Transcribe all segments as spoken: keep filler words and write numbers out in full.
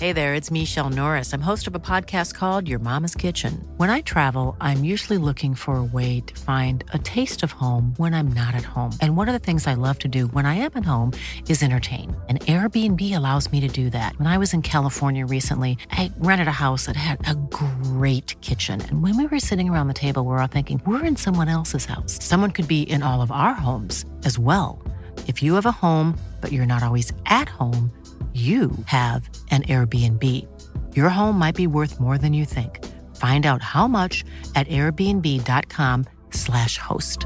Hey there, it's Michelle Norris. I'm host of a podcast called Your Mama's Kitchen. When I travel, I'm usually looking for a way to find a taste of home when I'm not at home. And one of the things I love to do when I am at home is entertain. And Airbnb allows me to do that. When I was in California recently, I rented a house that had a great kitchen. And when we were sitting around the table, we were all thinking, we're in someone else's house. Someone could be in all of our homes as well. If you have a home, but you're not always at home, you have an Airbnb. Your home might be worth more than you think. Find out how much at airbnb.com slash host.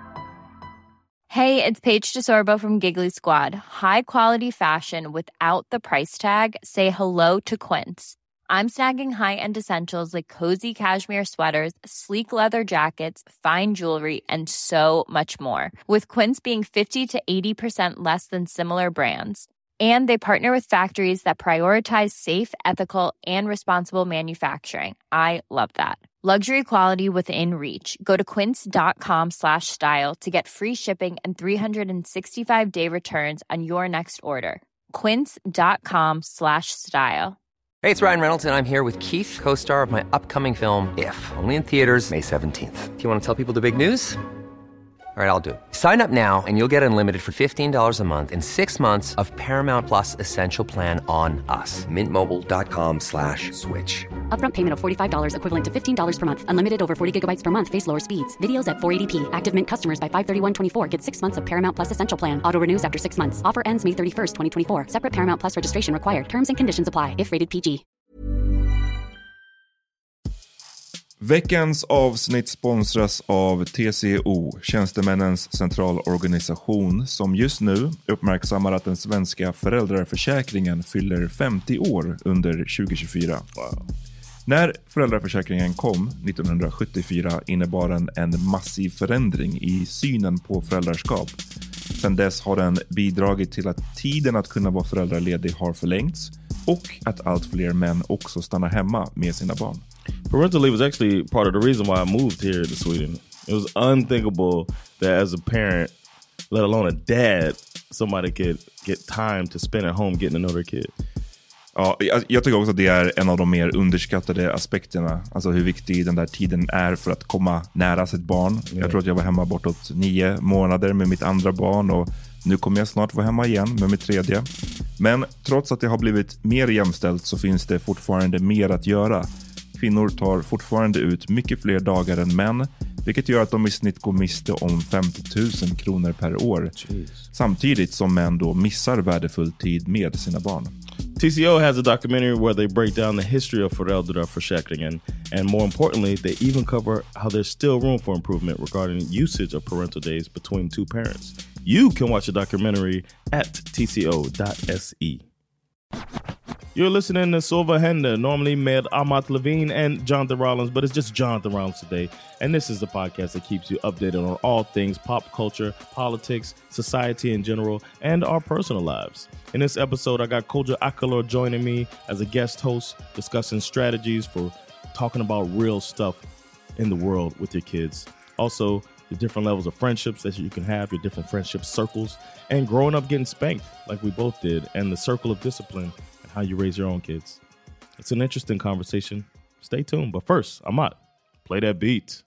Hey, it's Paige DeSorbo from Giggly Squad. High quality fashion without the price tag. Say hello to Quince. I'm snagging high-end essentials like cozy cashmere sweaters, sleek leather jackets, fine jewelry, and so much more. With Quince being fifty to eighty percent less than similar brands. And they partner with factories that prioritize safe, ethical, and responsible manufacturing. I love that. Luxury quality within reach. Go to quince.com slash style to get free shipping and three sixty-five day returns on your next order. Quince.com slash style. Hey, it's Ryan Reynolds, and I'm here with Keith, co-star of my upcoming film, If, only in theaters May seventeenth. Do you want to tell people the big news? All right, I'll do it. Sign up now and you'll get unlimited for fifteen dollars a month and six months of Paramount Plus Essential Plan on us. Mint Mobile dot com slash switch. Upfront payment of forty-five dollars equivalent to fifteen dollars per month. Unlimited over forty gigabytes per month. Face lower speeds. Videos at four eighty p. Active Mint customers by five thirty-one twenty-four get six months of Paramount Plus Essential Plan. Auto renews after six months. Offer ends May thirty-first, twenty twenty-four. Separate Paramount Plus registration required. Terms and conditions apply if rated P G. Veckans avsnitt sponsras av T C O, Tjänstemännens centralorganisation, som just nu uppmärksammar att den svenska föräldraförsäkringen fyller femtio år under tjugo tjugofyra. Wow. När föräldraförsäkringen kom nittonhundrasjuttiofyra innebar den en massiv förändring i synen på föräldraskap. Sedan dess har den bidragit till att tiden att kunna vara föräldraledig har förlängts och att allt fler män också stannar hemma med sina barn. Parental leave was actually part of the reason why I moved here to Sweden. It was unthinkable that as a parent, let alone a dad, somebody could get time to spend at home getting to know their kid. Ja, jag, jag tycker också att det är en av de mer underskattade aspekterna. Alltså hur viktig den där tiden är för att komma nära sitt barn. Yeah. Jag tror att jag var hemma bortåt nio månader med mitt andra barn och nu kommer jag snart vara hemma igen med mitt tredje. Men trots att det har blivit mer jämställt så finns det fortfarande mer att göra. Kvinnor tar fortfarande ut mycket fler dagar än män, vilket gör att de i snitt går miste om femtio tusen kronor per år. Jeez. Samtidigt som män då missar värdefull tid med sina barn. T C O has a documentary where they break down the history of föräldraförsäkringen, and more importantly, they even cover how there's still room for improvement regarding usage of parental days between two parents. You can watch the documentary at t c o dot s e. You're listening to Så vad händer, normally med Amat Levine and Jonathan Rollins, but it's just Jonathan Rollins today. And this is the podcast that keeps you updated on all things pop culture, politics, society in general, and our personal lives. In this episode, I got Kodjo Akolor joining me as a guest host, discussing strategies for talking about real stuff in the world with your kids. Also, the different levels of friendships that you can have, your different friendship circles, and growing up getting spanked like we both did, and the circle of discipline, how you raise your own kids. It's an interesting conversation. Stay tuned. But first, Amat, play that beat.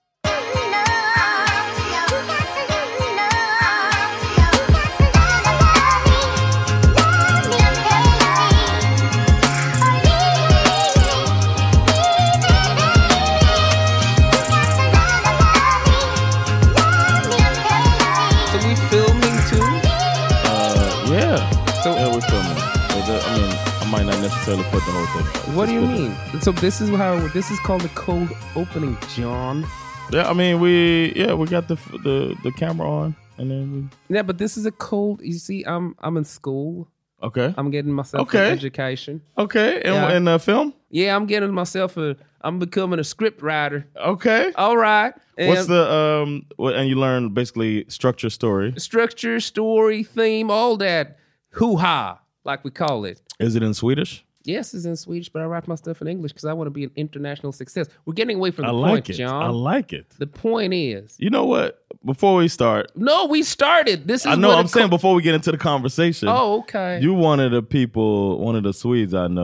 So we filming too? Uh, yeah. So yeah, we're filming. I mean, might not necessarily put the whole thing. What do you mean? So this is how this is called the cold opening, John. Yeah, I mean we yeah we got the the the camera on and then we. Yeah, but this is a cold. You see, I'm I'm in school. Okay. I'm getting myself okay. an education. Okay. In, yeah. in the film. Yeah, I'm getting myself a. I'm becoming a script writer. Okay. All right. And what's the um? What, and you learn basically structure, story, structure, story, theme, all that. Hoo-ha, like we call it. Is it in Swedish? Yes, it's in Swedish, but I write my stuff in English because I want to be an international success. We're getting away from the I like point, it. John. I like it. The point is... You know what? Before we start... No, we started. This is I know, I'm co- saying before we get into the conversation. Oh, okay. You one of the people, one of the Swedes I know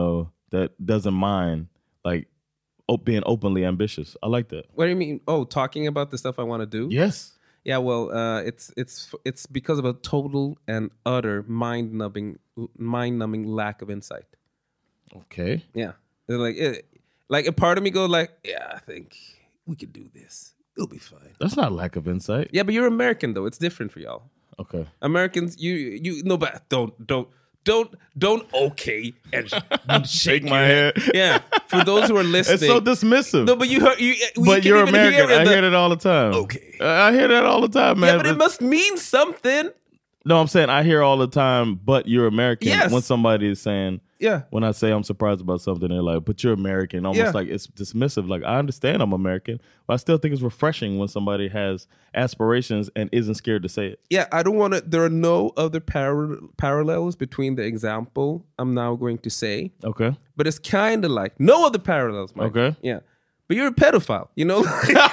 that doesn't mind like op- being openly ambitious. I like that. What do you mean? Oh, talking about the stuff I want to do? Yes. Yeah, well, uh, it's it's it's because of a total and utter mind-numbing mind-numbing lack of insight. Okay. Yeah, They're like it, like a part of me goes like, yeah, I think we could do this. It'll be fine. That's not lack of insight. Yeah, but you're American though. It's different for y'all. Okay. Americans, you you no, but don't don't don't don't okay and shake my your head. Yeah, for those who are listening, It's so dismissive. no, but you heard you. we but can you're even American. Hear I the- hear that all the time. Okay. I hear that all the time, man. Yeah, but it must mean something. No, I'm saying I hear all the time, but you're American. Yes. When somebody is saying, Yeah. when I say I'm surprised about something, they're like, but you're American. Almost Yeah. like it's dismissive. Like, I understand I'm American, but I still think it's refreshing when somebody has aspirations and isn't scared to say it. Yeah, I don't want to. There are no other par- parallels between the example I'm now going to say, Okay. but it's kind of like no other parallels, Mike. Okay. Yeah, but you're a pedophile, you know.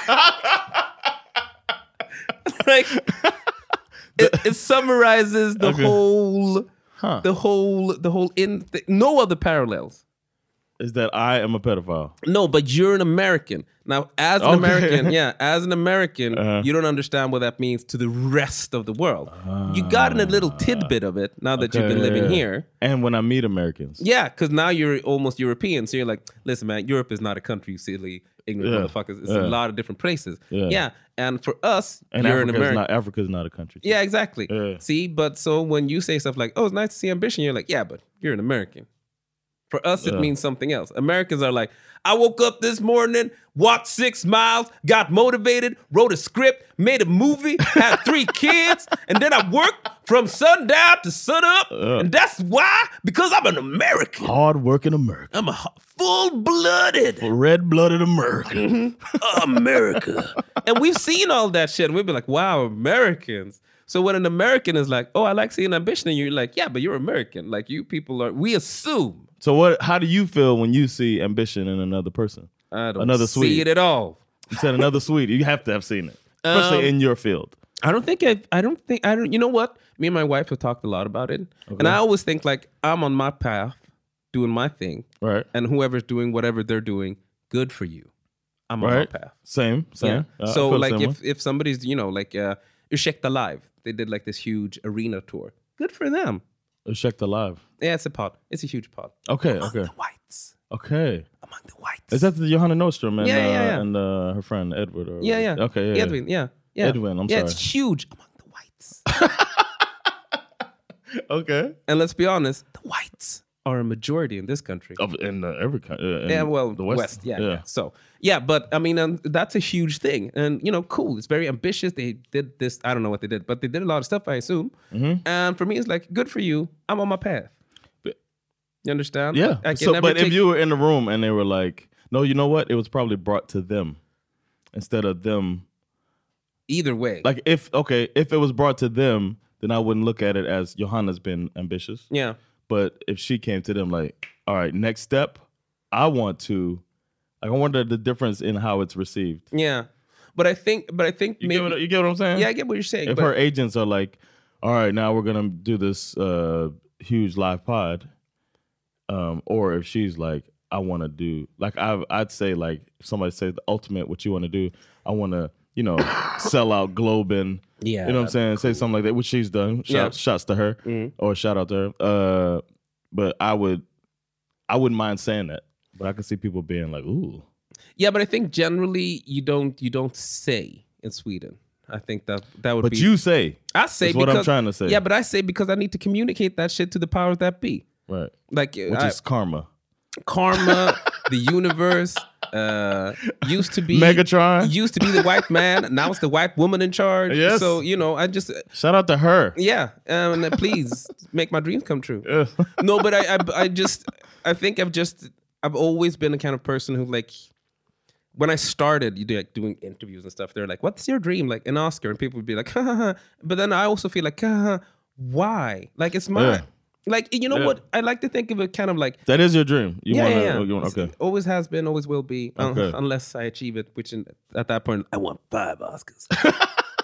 Like it, it summarizes the Okay. whole, Huh. the whole, the whole. In th- no other parallels. Is that I am a pedophile. No, but you're an American. Now, as an Okay. American, yeah, as an American, Uh-huh. you don't understand what that means to the rest of the world. You got in a little tidbit of it now that you've been Okay, living yeah. here. And when I meet Americans. Yeah, because now you're almost European. So you're like, listen, man, Europe is not a country, you silly, ignorant Yeah. motherfuckers. It's Yeah. a lot of different places. Yeah. Yeah. And for us, And you're an Africa is American. not Africa's not a country. Yeah, exactly. Yeah. See, but so when you say stuff like, oh, it's nice to see ambition, you're like, yeah, but you're an American. For us, it Yeah. means something else. Americans are like, I woke up this morning, walked six miles, got motivated, wrote a script, made a movie, had three kids, and then I worked from sundown to sunup. And that's why, because I'm an American. Hard-working American. I'm a full-blooded Red-blooded American. America. And we've seen all that shit. And we've been like, wow, Americans. So when an American is like, oh, I like seeing ambition, and you're like, yeah, but you're American. Like, you people are, we assume. So what? How do you feel when you see ambition in another person? I don't Another see Swede. it at all. You said another Swede. You have to have seen it, especially Um, in your field. I don't think I, I don't think, I don't, you know what? Me and my wife have talked a lot about it. And I always think like, I'm on my path, doing my thing. Right. And whoever's doing whatever they're doing, good for you. I'm on Right. my path. Same. Yeah. Same. Uh, I so feel like similar. if, if somebody's, you know, like uh, Ursäkta Live, they did like this huge arena tour. Good for them. Check the live. Yeah, it's a pod. It's a huge pod. Okay. Among okay. the whites. Okay. Among the whites. Is that the Johanna Nordstrom and Yeah, yeah, uh, yeah. and uh, her friend Edward? Or Yeah, yeah. Okay. Yeah. yeah. Edwin, yeah. yeah. Edwin, I'm yeah, sorry. it's huge among the whites. Okay. And let's be honest, the whites are a majority in this country. Of in uh, every country. Uh, in Yeah, well, the West, West. yeah, yeah. So, yeah, but I mean, um, that's a huge thing. And, you know, cool. It's very ambitious. They did this. I don't know what they did, but they did a lot of stuff, I assume. Mm-hmm. And for me, it's like, good for you. I'm on my path. But- You understand? Yeah. I can So, never but take- if you were in the room and they were like, no, you know what? It was probably brought to them instead of them. Either way. Like if okay, if it was brought to them, then I wouldn't look at it as Johanna's been ambitious. yeah. But if she came to them like, all right, next step, I want to. Like, I wonder the difference in how it's received. Yeah. But I think, but I think You maybe. get what you get what I'm saying? Yeah, I get what you're saying. If but, her agents are like, all right, now we're gonna do this uh, huge live pod, um, or if she's like, I want to do like I I'd say like if somebody says the ultimate, what you want to do, I want to you know sell out Globin. Yeah, you know what I'm saying? Say something like that, which she's done. Shout, Yeah. Shouts to her, or shout out to her. Uh, but I would, I wouldn't mind saying that. But I can see people being like, ooh. yeah, but I think generally you don't you don't say in Sweden. I think that that would But be. you say, I say is what I'm because- trying to say. Yeah, but I say because I need to communicate that shit to the powers that be. right, Like which I- is karma. karma, the universe, uh, used to be Megatron. used to be the white man. Now it's the white woman in charge. Yes. So you know, I just Shout out to her. yeah. Um, please make my dreams come true. Yeah. No, but I, I, I just, I think I've just, I've always been the kind of person who like, when I started you do, like, doing interviews and stuff, they're like, "What's your dream?" Like an Oscar, and people would be like, ha, ha, ha. But then I also feel like, ha, ha, why? Like it's my, Yeah. like you know Yeah. what? I like to think of it kind of like. That is your dream. You yeah, want to? yeah, yeah. You want, okay. Always has been, always will be, un- Okay. unless I achieve it. Which in, at that point, I want five Oscars.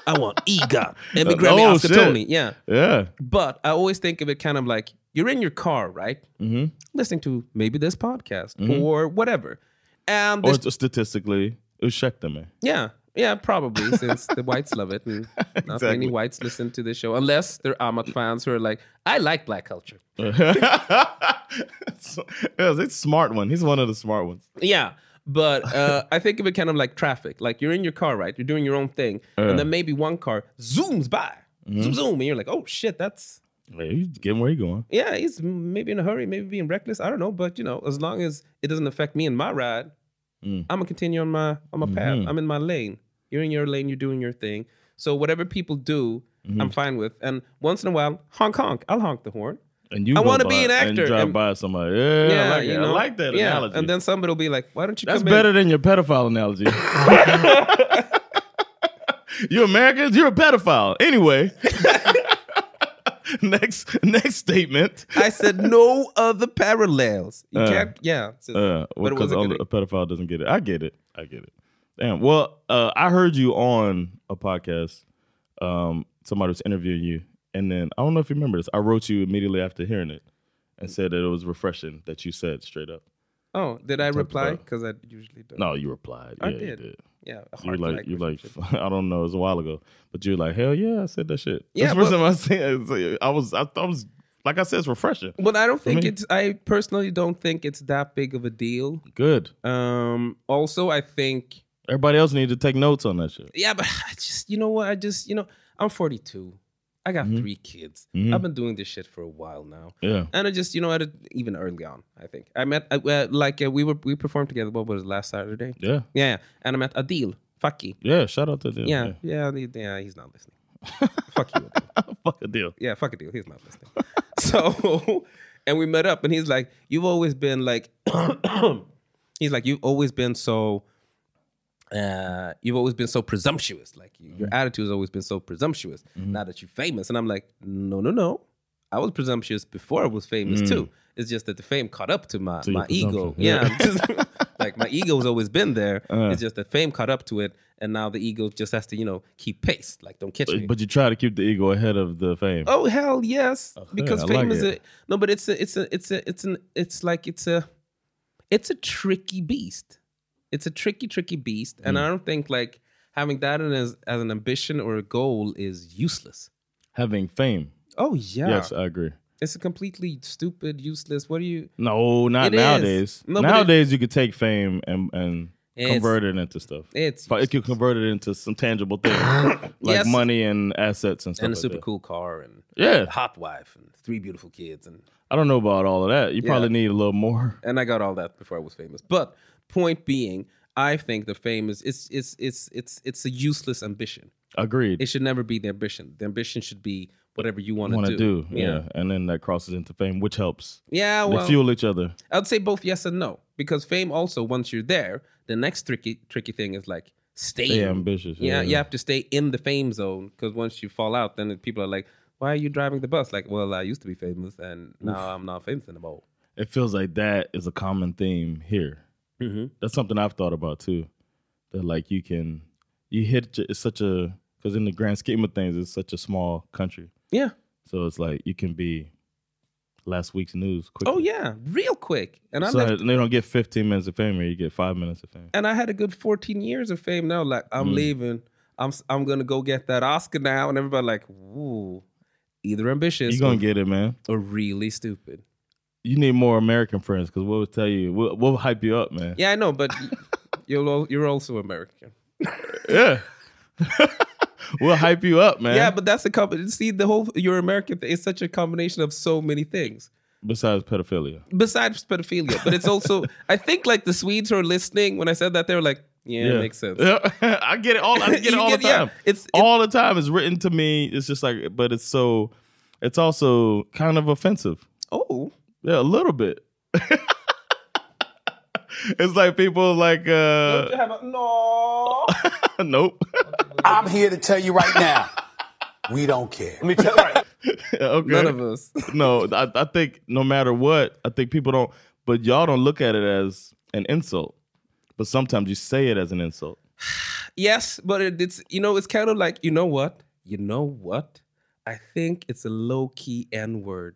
I want EGOT, Emmy, Grammy, Oh, Oscar, shit. Tony. Yeah. Yeah. But I always think of it kind of like you're in your car, right? Mm-hmm. Listening to maybe this podcast or whatever. And Or this, statistically, ursäkta mig. yeah, yeah, probably since the whites love it. And not Exactly. many whites listen to this show unless they're Amat fans who are like, I like black culture. So, yeah, it's a smart one. He's one of the smart ones. Yeah. But uh, I think of it kind of like traffic. Like you're in your car, right? You're doing your own thing. And then maybe one car zooms by. Zoom, zoom. And you're like, oh, shit, that's... Hey, he's getting where he going. Yeah, he's maybe in a hurry, maybe being reckless. I don't know. But, you know, as long as it doesn't affect me and my ride, Mm. I'm going to continue on my on my path. Mm-hmm. I'm in my lane. You're in your lane. You're doing your thing. So whatever people do, Mm-hmm. I'm fine with. And once in a while, honk, honk. I'll honk the horn. And you I go wanna by be an And actor, drive and- by somebody. Yeah, I like it. you know? I like that yeah. analogy. And then somebody will be like, why don't you That's come better in? than your pedophile analogy. You Americans, you're a pedophile. Anyway. next next statement. I said no other parallels. You Uh, can't, yeah. It's just- Uh, but it because was a only good a pedophile doesn't get it. I get it. I get it. Damn. Well, uh, I heard you on a podcast. Um, somebody was interviewing you, and then I don't know if you remember this. I wrote you immediately after hearing it, and said that it was refreshing that you said straight up. Oh, did I reply? about- Because I usually don't. No, you replied. I yeah, did. You did. Yeah, a You're heart like, you're like, language. I don't know. It was a while ago, but you're like, hell yeah, I said that shit. Yeah, That's the first but- time I said it. I was, I, I was, like I said, it's refreshing. But I don't think me- it's. I personally don't think it's that big of a deal. Good. Um. Also, I think. Everybody else needs to take notes on that shit. Yeah, but I just, you know what? I just, you know, I'm forty-two. I got three kids. Mhm. I've been doing this shit for a while now. Yeah. And I just, you know, at a, even early on, I think I met uh, uh, like uh, we were we performed together. What was it, last Saturday? Yeah. Yeah, and I met Adil Faki. Yeah. Shout out to them. Yeah, yeah, yeah, yeah. He's not listening. Fuck you, Adil. Fuck a deal. Yeah, fuck Adil. He's not listening. So, and we met up, and he's like, "You've always been like," he's like, "You've always been so." Uh, you've always been so presumptuous. Like you, your attitude has always been so presumptuous. Now that you're famous, and I'm like, no, no, no. I was presumptuous before I was famous too. It's just that the fame caught up to my To your my ego. presumption. Yeah, like my ego's always been there. Uh. It's just that fame caught up to it, and now the ego just has to, you know, keep pace. Like don't catch me. But, but you try to keep the ego ahead of the fame. Oh hell yes, because I fame like is it. a no, but it's a it's a it's a it's an it's like it's a it's a tricky beast. It's a tricky tricky beast, and Mm. I don't think like having that as as an ambition or a goal is useless. Having fame. Oh yeah, Yes, I agree. it's a completely stupid, useless. What do you? No, not It is. nowadays. No, but it- nowadays, you could take fame and and It's- convert it into stuff. It's But it could convert it into some tangible things like Yes. money and assets and stuff. and a like super that. cool car and Yeah. a hot wife and three beautiful kids and I don't know about all of that. You Yeah. probably need a little more. and I got all that before I was famous. But point being, I think the fame is it's it's it's it's it's a useless ambition. Agreed. It should never be the ambition. The ambition should be whatever you want Want to to do. do, yeah. and then that crosses into fame, which helps. Yeah, They well, fuel each other. I'd say both yes and no. Because fame also, once you're there, the next tricky tricky thing is like stay. Stay in. ambitious, Yeah, yeah. you have to stay in the fame zone because once you fall out, then people are like, "Why are you driving the bus?" Like, well, I used to be famous and now I'm not famous anymore. It feels like that is a common theme here. Mm-hmm. That's something I've thought about too. That like you can, you hit it's such a because in the grand scheme of things, it's such a small country. Yeah. So it's like you can be last week's news quickly. Oh yeah, real quick. And I So left, they don't get fifteen minutes of fame here. You get five minutes of fame. and I had a good fourteen years of fame. Now, like I'm Mm. leaving. I'm I'm gonna go get that Oscar now, and everybody like, ooh, either ambitious You're going or, to get it, man. or really stupid. You need more American friends because we'll tell you, we'll, we'll hype you up, man. Yeah, I know, but you're al- you're also American. Yeah. We'll hype you up, man. Yeah, but that's a company. See, the whole you're American thing is such a combination of so many things Besides pedophilia. besides pedophilia. But it's also, I think, like the Swedes who are listening when I said that they were like, yeah, it makes sense. Yeah. I get it all. I get it You all get- the yeah, time. it's- all the time. It's written to me. It's just like, but it's so, it's also kind of offensive. Oh, Yeah, a little bit. It's like people like, uh, Don't you have a- no. nope. I'm here to tell you right now, we don't care. Let me tell you. Right. Okay. None of us. No, I, I think no matter what, I think people don't, but y'all don't look at it as an insult. But sometimes you say it as an insult. Yes, but it, it's you know it's kind of like you know what you know what I think it's a low key N word.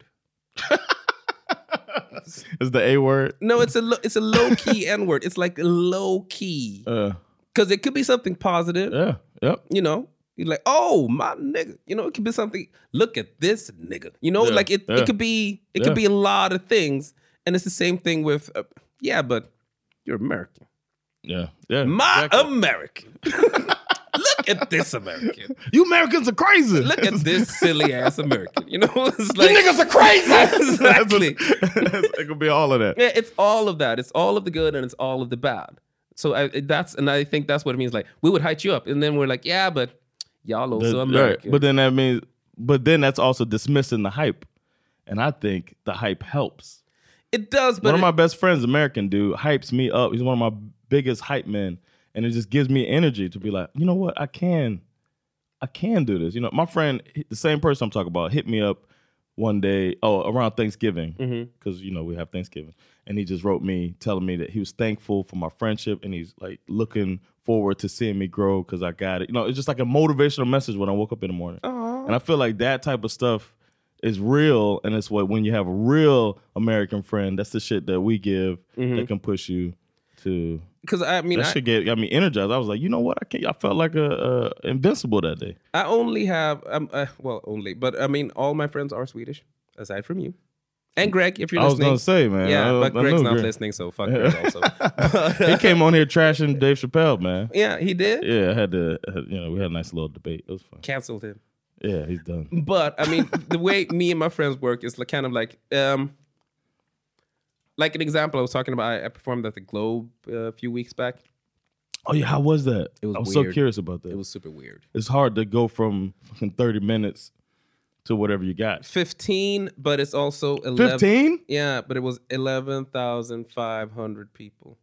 Is the A word? No, it's a lo- it's a low key N word. It's like low key because it could be something positive. Yeah, yep. You know, you're like, oh my nigga. You know, it could be something. Look at this nigga. You know, Yeah, like it. yeah. It could be. It Yeah. could be a lot of things, and it's the same thing with. Uh, yeah, but you're American. Yeah, yeah. My exactly. American. Look at this American. You Americans are crazy. Look at this silly ass American. You know, it's like You niggas are crazy. exactly. It could be all of that. Yeah, it's all of that. It's all of the good and it's all of the bad. So I, that's and I think that's what it means. Like we would hype you up, and then we're like, yeah, but y'all also The- American. right. But then that means, but then that's also dismissing the hype, and I think the hype helps. It does. But one of it- my best friends, American dude, hypes me up. He's one of my biggest hype men, and it just gives me energy to be like, you know what, I can, I can do this. You know, my friend, the same person I'm talking about, hit me up one day, oh, around Thanksgiving, because Mm-hmm. you know we have Thanksgiving, and he just wrote me telling me that he was thankful for my friendship, and he's like looking forward to seeing me grow because I got it. You know, it's just like a motivational message when I woke up in the morning, and I feel like that type of stuff is real, and it's what when you have a real American friend, that's the shit that we give that can push you to. because I mean, That I, shit get got me energized. I was like, you know what? I can't. I felt like a, a invincible that day. I only have um, uh, well, only, but I mean, all my friends are Swedish, aside from you and Greg. If you're I was listening, gonna say, man. yeah, I- but I Greg's knew not Greg. listening, so fuck Greg also. He came on here trashing Dave Chappelle, man. Yeah, he did. Yeah, I had to. You know, we had a nice little debate. It was fun. Canceled him. Yeah, he's done. But I mean, the way me and my friends work is like kind of like, um, like an example. I was talking about. I, I performed at the Globe uh, a few weeks back. Oh yeah, how was that? It was I was so weird. curious about that. It was super weird. It's hard to go from fucking thirty minutes to whatever you got. Fifteen, but it's also eleven. Fifteen? Yeah, but it was eleven thousand five hundred people.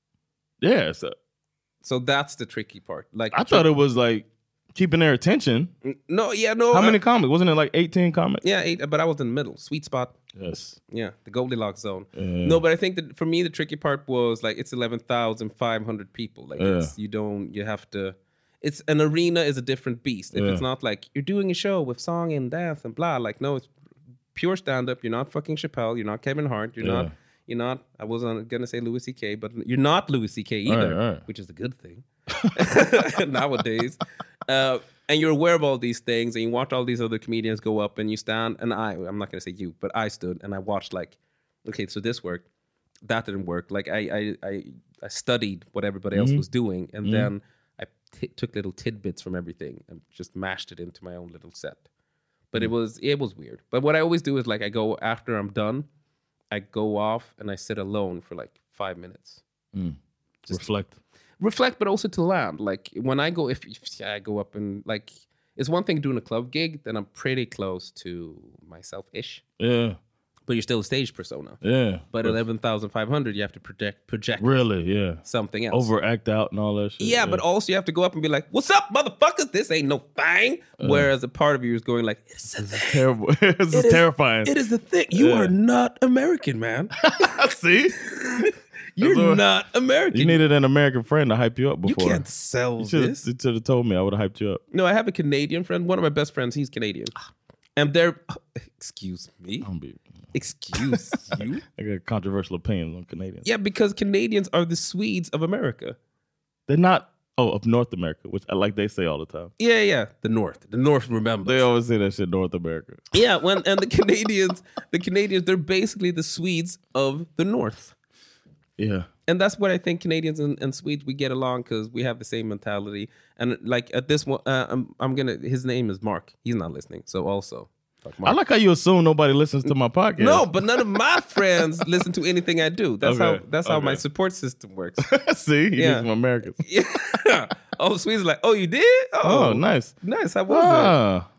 Yeah. So So that's the tricky part. Like I thought it was like keeping their attention. no, yeah, no. How uh, many comics? Wasn't it like eighteen comics? Yeah, eight, but I was in the middle, sweet spot. Yes. Yeah, the Goldilocks zone. Yeah. No, but I think that for me the tricky part was like it's eleven thousand five hundred people. Like Yeah. it's, you don't you have to. It's an arena is a different beast. If Yeah. it's not like you're doing a show with song and dance and blah, like no, it's pure stand up. You're not fucking Chappelle. You're not Kevin Hart. You're Yeah. not. You're not. I wasn't gonna say Louis C K, but you're not Louis C K either, Right, right. which is a good thing nowadays. Uh, and you're aware of all these things, and you watch all these other comedians go up, and you stand. And I, I'm not gonna say you, but I stood and I watched like, okay, so this worked, that didn't work. Like I, I, I, I studied what everybody else was doing, and then I t- took little tidbits from everything and just mashed it into my own little set. But it was it was weird. But what I always do is like I go after I'm done, I go off and I sit alone for like five minutes. Reflect. Reflect, but also to land. Like when I go, if, if I go up and like, it's one thing doing a club gig, then I'm pretty close to myself-ish. Yeah. But you're still a stage persona. Yeah. But eleven thousand five hundred, you have to project project Really, yeah. something else. Overact out and all that shit. Yeah, but also you have to go up and be like, "What's up, motherfuckers? This ain't no thing." Whereas a part of you is going like, "It's a thing. terrible. This is It is- terrifying. It is the thing. You Yeah. are not American, man. See? You're That's what- not American. You needed an American friend to hype you up You before. can't sell You should this." have told me. I would have hyped you up. No, I have a Canadian friend. One of my best friends, he's Canadian. And they're, excuse me, I'm be, excuse you. I got controversial opinions on Canadians. Yeah, because Canadians are the Swedes of America. They're not, oh, of North America, which I like they say all the time. Yeah, yeah, the North. The North remembers. They always say that shit, North America. Yeah, when and the Canadians, the Canadians, they're basically the Swedes of the North. Yeah. And that's what I think Canadians and, and Swedes, we get along because we have the same mentality. And like at this one, uh, I'm, I'm gonna, his name is Mark. He's not listening. So also, fuck Mark. I like how you assume nobody listens to my podcast. No, but none of my friends listen to anything I do. That's Okay, how that's how my okay. support system works. See, you Yeah. need some Americans. Yeah. Oh, Swedes are like, oh, you did? Oh, nice. Nice. How was Ah.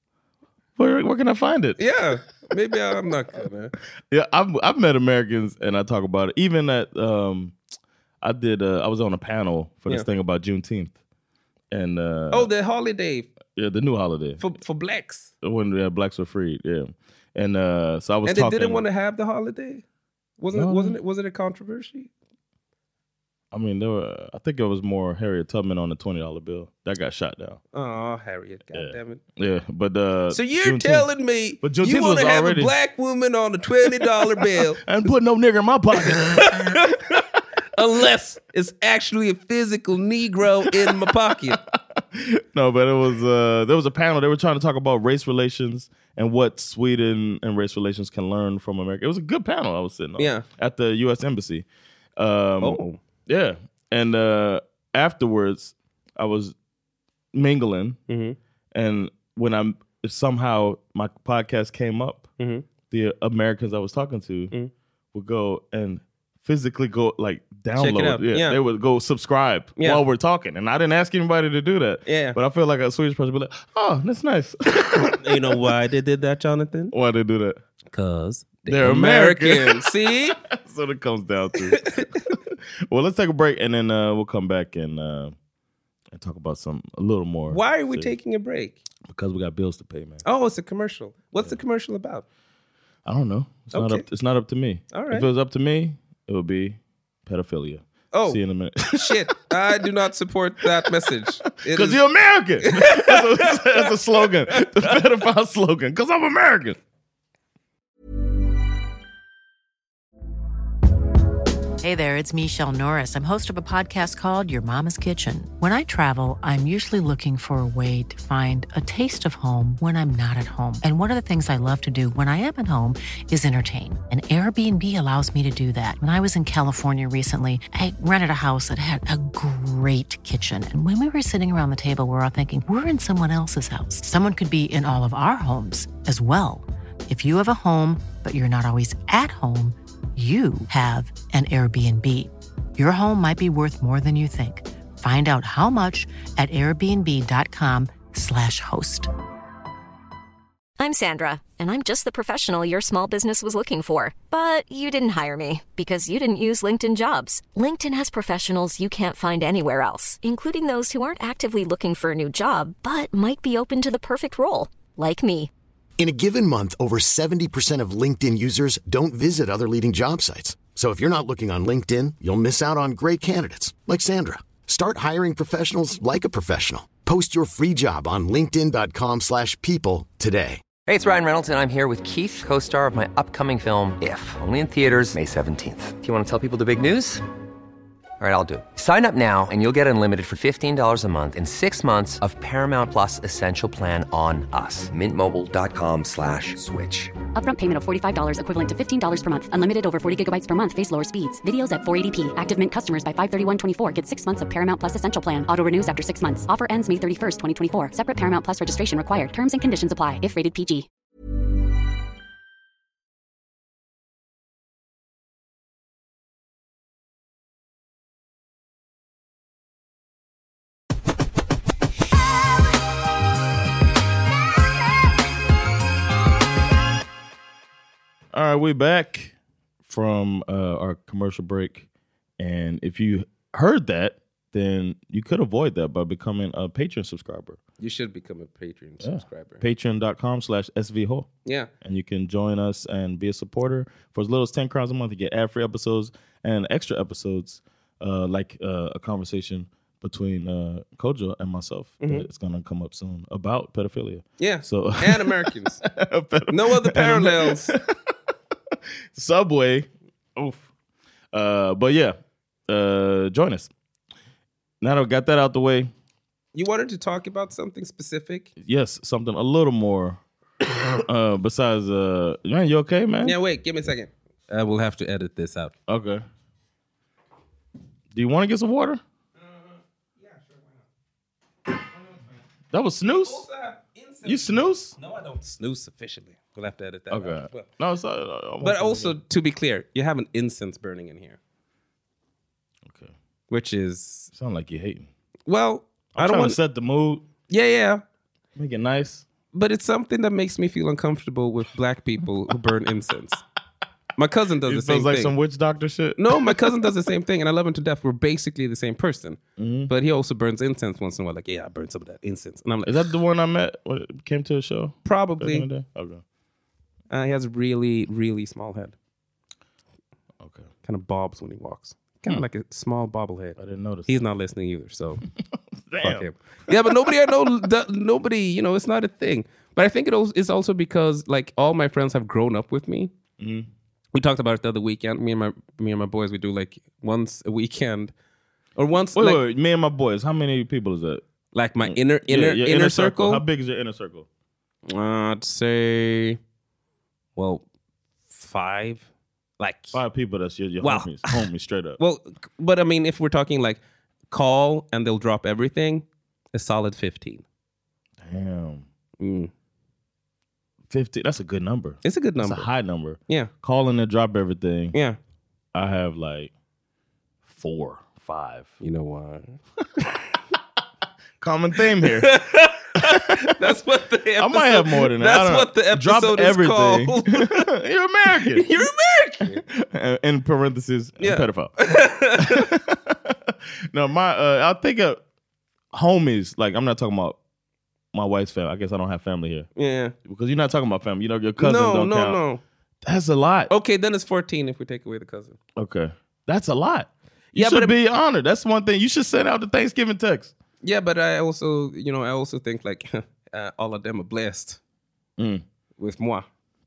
Where, where can I find it? it? Yeah. Maybe I'm not gonna. Yeah, I've I've met Americans and I talk about it. Even at um, I did. Uh, I was on a panel for this Yeah. thing about Juneteenth, and uh, Oh, the holiday yeah, the new holiday for for blacks. when yeah, blacks were freed. Yeah, and uh, so I was And they talking. didn't want to have the holiday? Wasn't it No. wasn't it was it a controversy? I mean, there were, I think it was more Harriet Tubman on the twenty dollar bill. That got shot down. Oh, Harriet, goddammit. Yeah. yeah, but... Uh, so you're Juneteenth, telling me but you want to have already, a black woman on a twenty dollar bill. I ain't putting no nigger in my pocket. Unless it's actually a physical Negro in my pocket. No, but it was uh, there was a panel. They were trying to talk about race relations and what Sweden and race relations can learn from America. It was a good panel I was sitting on. Yeah. At the U S Embassy. Um, oh. Yeah. And uh, afterwards, I was mingling. Mm-hmm. And when I'm somehow my podcast came up, mm-hmm. the Americans I was talking to mm-hmm. would go and physically go like download. Check it out. Yeah, yeah. They would go subscribe yeah. while we're talking. And I didn't ask anybody to do that. Yeah. But I feel like a Swedish person would be like, oh, that's nice. You know why they did that, Jonathan? Why they do that? Because they're, they're American. American. See? That's what it comes down to. Well, let's take a break and then uh, we'll come back and uh, and talk about some a little more. Why are we serious. taking a break? Because we got bills to pay, man. Oh, it's a commercial. What's yeah. the commercial about? I don't know. It's okay. not up. It's not up to me. All right. If it was up to me, it would be pedophilia. Oh, see you in a minute. Shit, I do not support that message. Because you're American. that's, a, that's a slogan. The pedophile slogan. Because I'm American. Hey there, it's Michelle Norris. I'm host of a podcast called Your Mama's Kitchen. When I travel, I'm usually looking for a way to find a taste of home when I'm not at home. And one of the things I love to do when I am at home is entertain. And Airbnb allows me to do that. When I was in California recently, I rented a house that had a great kitchen. And when we were sitting around the table, we were all thinking, we're in someone else's house. Someone could be in all of our homes as well. If you have a home, but you're not always at home, you have an Airbnb. Your home might be worth more than you think. Find out how much at airbnb.com slash host. I'm Sandra, and I'm just the professional your small business was looking for. But you didn't hire me because you didn't use LinkedIn Jobs. LinkedIn has professionals you can't find anywhere else, including those who aren't actively looking for a new job, but might be open to the perfect role, like me. In a given month, over seventy percent of LinkedIn users don't visit other leading job sites. So if you're not looking on LinkedIn, you'll miss out on great candidates like Sandra. Start hiring professionals like a professional. Post your free job on linkedin.com slash people today. Hey, it's Ryan Reynolds, and I'm here with Keith, co-star of my upcoming film, If, only in theaters May seventeenth. Do you want to tell people the big news? All right, I'll do it. Sign up now and you'll get unlimited for fifteen dollars a month and six months of Paramount Plus Essential Plan on us. Mint Mobile dot com slash switch. Upfront payment of forty-five dollars equivalent to fifteen dollars per month. Unlimited over forty gigabytes per month. Face lower speeds. Videos at four eighty p. Active Mint customers by five thirty-one twenty-four get six months of Paramount Plus Essential Plan. Auto renews after six months. Offer ends May thirty-first, twenty twenty-four. Separate Paramount Plus registration required. Terms and conditions apply if rated P G. All right, we're back from uh, our commercial break. And if you heard that, then you could avoid that by becoming a Patreon subscriber. You should become a Patreon yeah. subscriber. Patreon.com slash SVHO. Yeah. And you can join us and be a supporter. For as little as ten crowns a month, you get ad-free episodes and extra episodes, uh, like uh, a conversation between uh, Kojo and myself. Mm-hmm. It's going to come up soon about pedophilia. Yeah. So and Americans. No other parallels. Subway. Oof. Uh, but yeah, uh, join us. Now that I got that out the way. You wanted to talk about something specific? Yes, something a little more. uh, besides, uh, man, you okay, man? Yeah, wait, give me a second. I will have to edit this out. Okay. Do you want to get some water? Uh, yeah, sure, why not? That was snooze? You snooze? No, I don't snooze officially. We'll have to edit that okay. out as well. No, it's not, I but also, to be clear, you have an incense burning in here. Okay. Which is... Sound like you're hating. Well, I'm I don't trying want to set the mood. Yeah, yeah. Make it nice. But it's something that makes me feel uncomfortable with black people who burn incense. My cousin does it the same feels like thing. some witch doctor shit. No, my cousin does the same thing, and I love him to death. We're basically the same person. Mm-hmm. But he also burns incense once in a while. Like, yeah, I burned some of that incense. And I'm like, is that the one I met when it came to a show? Probably. Okay. Uh, he has a really, really small head. Okay. Kind of bobs when he walks. kind of like a small bobblehead. I didn't notice. He's not listening either, so Damn. fuck him. Yeah, but nobody, I know, the, nobody, you know, it's not a thing. But I think it also, it's also because like all my friends have grown up with me. Mm. We talked about it the other weekend. Me and my me and my boys, we do like once a weekend, or once. Wait, like, wait, wait, me and my boys. How many people is that? Like my inner inner Yeah, your inner, circle. How big is your inner circle? Uh, I'd say, well, five. Like Five people. That's your, your Well- homies. Homies, straight up. Well, but I mean, if we're talking like call and they'll drop everything, a solid fifteen. Damn. Mm. fifty. That's a good number. It's a good number. It's a high number. Yeah. Calling and drop everything. Yeah. I have like four, five. You know why? Common theme here. That's what the episode, I might have more than that. I That's don't what the know. episode Drop is everything. called. You're American. You're American. Uh, In parentheses, Yeah. pedophile. No, my uh, I think of homies. Like I'm not talking about my wife's family. I guess I don't have family here Yeah. because you're not talking about family. You know, your cousins No, don't no, count. no. That's a lot. Okay, then it's fourteen if we take away the cousin. Okay, that's a lot. You Yeah, should but be honored. That's one thing. You should send out the Thanksgiving text. Yeah, but I also, you know, I also think like uh, all of them are blessed Mm. with moi.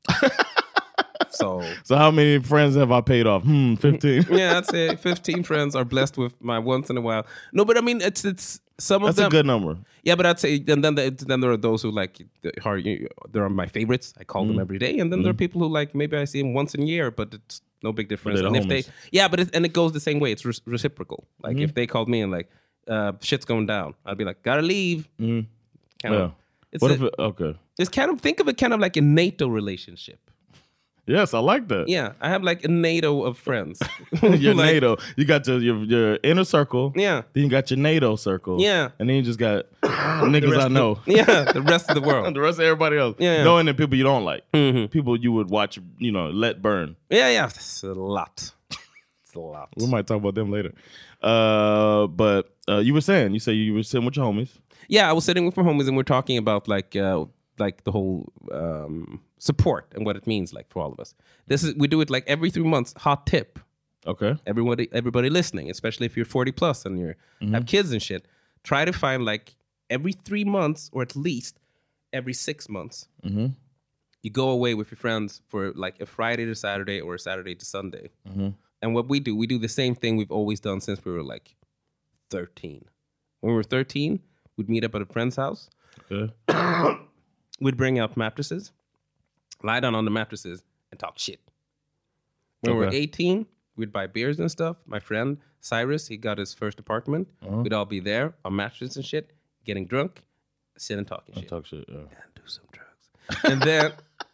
So So how many friends have I paid off? Hmm, fifteen. yeah, I'd say fifteen friends are blessed with my once in a while. No, but I mean, it's it's some of That's them. a good number. Yeah, but I'd say and then the, then there are those who like are there are my favorites. I call them Mm. every day, and then there are people who like maybe I see them once a year, but it's no big difference. they're And the if they homies. yeah, but it, and it goes the same way. It's re- reciprocal. Like Mm-hmm. if they called me and like uh, shit's going down, I'd be like, gotta leave. Mm. Kind Yeah. of. It's What a- if it, okay. it's kind of think of it kind of like a NATO relationship. Yes, I like that. Yeah, I have like a NATO of friends. Your Like, NATO. You got your, your your inner circle. Yeah. Then you got your NATO circle. Yeah. And then you just got niggas I know. Yeah, the rest of the world. The rest of everybody else. Yeah, yeah. Knowing the people you don't like. Mhm. People you would watch, you know, let burn. Yeah, yeah, it's a lot. It's a lot. We might talk about them later. Uh, but uh, you were saying, you say you were sitting with your homies. Yeah, I was sitting with my homies and we're talking about like uh, like the whole um, support and what it means like for all of us. This is we do it like every three months. Hot tip, Okay. everybody everybody listening, especially if you're forty plus and you Mm-hmm. have kids and shit. Try to find like every three months or at least every six months. Mm-hmm. You go away with your friends for like a Friday to Saturday or a Saturday to Sunday. Mm-hmm. And what we do, we do the same thing we've always done since we were like thirteen. When we were thirteen, we'd meet up at a friend's house. Okay. We'd bring out mattresses, lie down on the mattresses, and talk shit. When we were Okay. eighteen, we'd buy beers and stuff. My friend Cyrus, he got his first apartment. Uh-huh. We'd all be there on mattresses and shit, getting drunk, sitting and talking I shit. talk shit. Yeah. And do some drugs. And then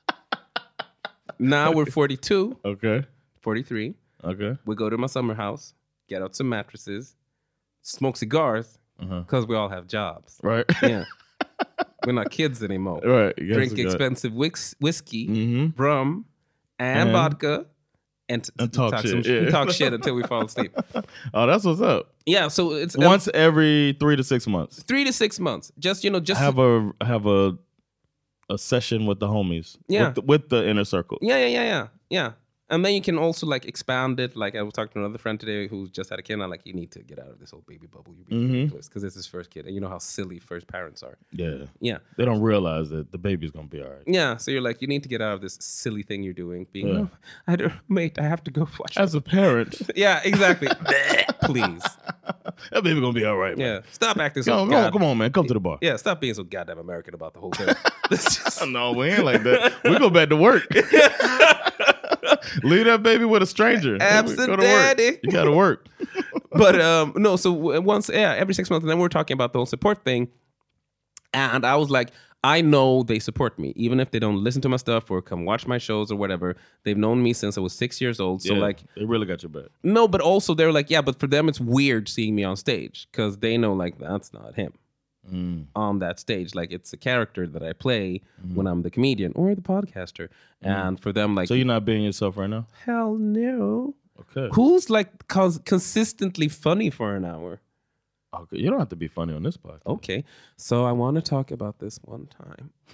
now we're forty-two, Okay. forty-three. Okay. We go to my summer house, get out some mattresses, smoke cigars, Uh-huh. because we all have jobs. Right. Yeah. We're not kids anymore. Right. Yes, Drink we got- expensive whis- whiskey, Mhm. rum, and, And- vodka, and, t- And talk some shit, yeah. talk shit until we fall asleep. Oh, that's what's up. Yeah, so it's um, Once every three to six months. three to six months. Just you know, just I have a I have a a session with the homies. Yeah. With the, with the inner circle. yeah, yeah, yeah, yeah, yeah. And then you can also like expand it. Like I was talking to another friend today who just had a kid. And I'm like, you need to get out of this whole baby bubble. You're being Mhm. ridiculous because it's his first kid, and you know how silly first parents are. Yeah. Yeah. They don't realize that the baby's gonna be all right. Yeah, so you're like, you need to get out of this silly thing you're doing. Being, Yeah. oh, I don't, mate, I have to go watch. As a parent, yeah, exactly. Please. that baby gonna be all right. Man. Yeah, stop acting so. Come on, god- come on, man. Come to the bar. Yeah, stop being so goddamn American about the whole thing. It's just- No, we ain't like that. We go back to work. Leave that baby with a stranger. Absent Go to work. daddy. You gotta work. but um, no, so w- once, yeah, every six months, and then we're talking about the whole support thing, and I was like, I know they support me, even if they don't listen to my stuff or come watch my shows or whatever. They've known me since I was six years old. So Yeah, like, they really got your back. no, but also they're like, yeah, but for them it's weird seeing me on stage because they know like that's not him Mm. on that stage. Like it's a character that I play when I'm the comedian or the podcaster, and for them like, So you're not being yourself right now? hell no. Okay. Who's like cons- consistently funny for an hour? Okay. You don't have to be funny on this podcast. Okay, so I want to talk about this one time.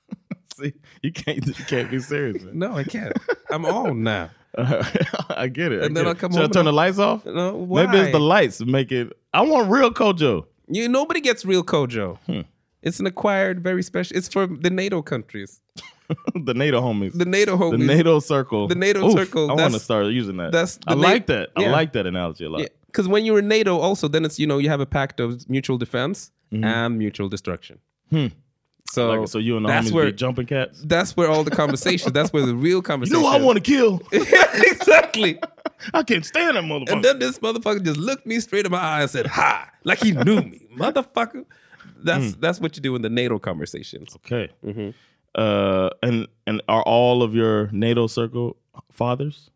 See, you can't, you can't be serious, man. No, I can't. I'm on now. I get it. I And get then it. I'll come Should home I turn and the lights off? No, why? Maybe it's the lights make it. I want real Kojo. You nobody gets real Kojo. Hmm. It's an acquired, very special. It's for the NATO countries. The NATO homies. The NATO homies. The NATO circle. The NATO Oof, circle. I want to that's- start using that. that's the I Na- like that. I yeah. like that analogy a lot. Yeah, because when you're in NATO, also then it's you know you have a pact of mutual defense and mutual destruction. Hmm. So Like it, so you and the that's homies where be jumping cats. that's where all the conversations. That's where the real You conversation. know I want to kill. exactly. I can't stand that motherfucker. And then this motherfucker just looked me straight in my eye and said, "Ha!" Like he knew me, motherfucker. That's that's what you do in the NATO conversations. Okay. Mm-hmm. Uh, and and are all of your NATO circle fathers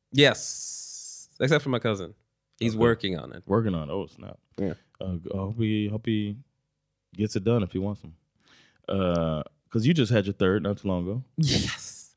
Yes, except for my cousin. He's Okay. working on it. working on? Oh snap! Yeah. Uh, I hope he hope he gets it done if he wants them. Uh, because you just had your third not too long ago. Yes,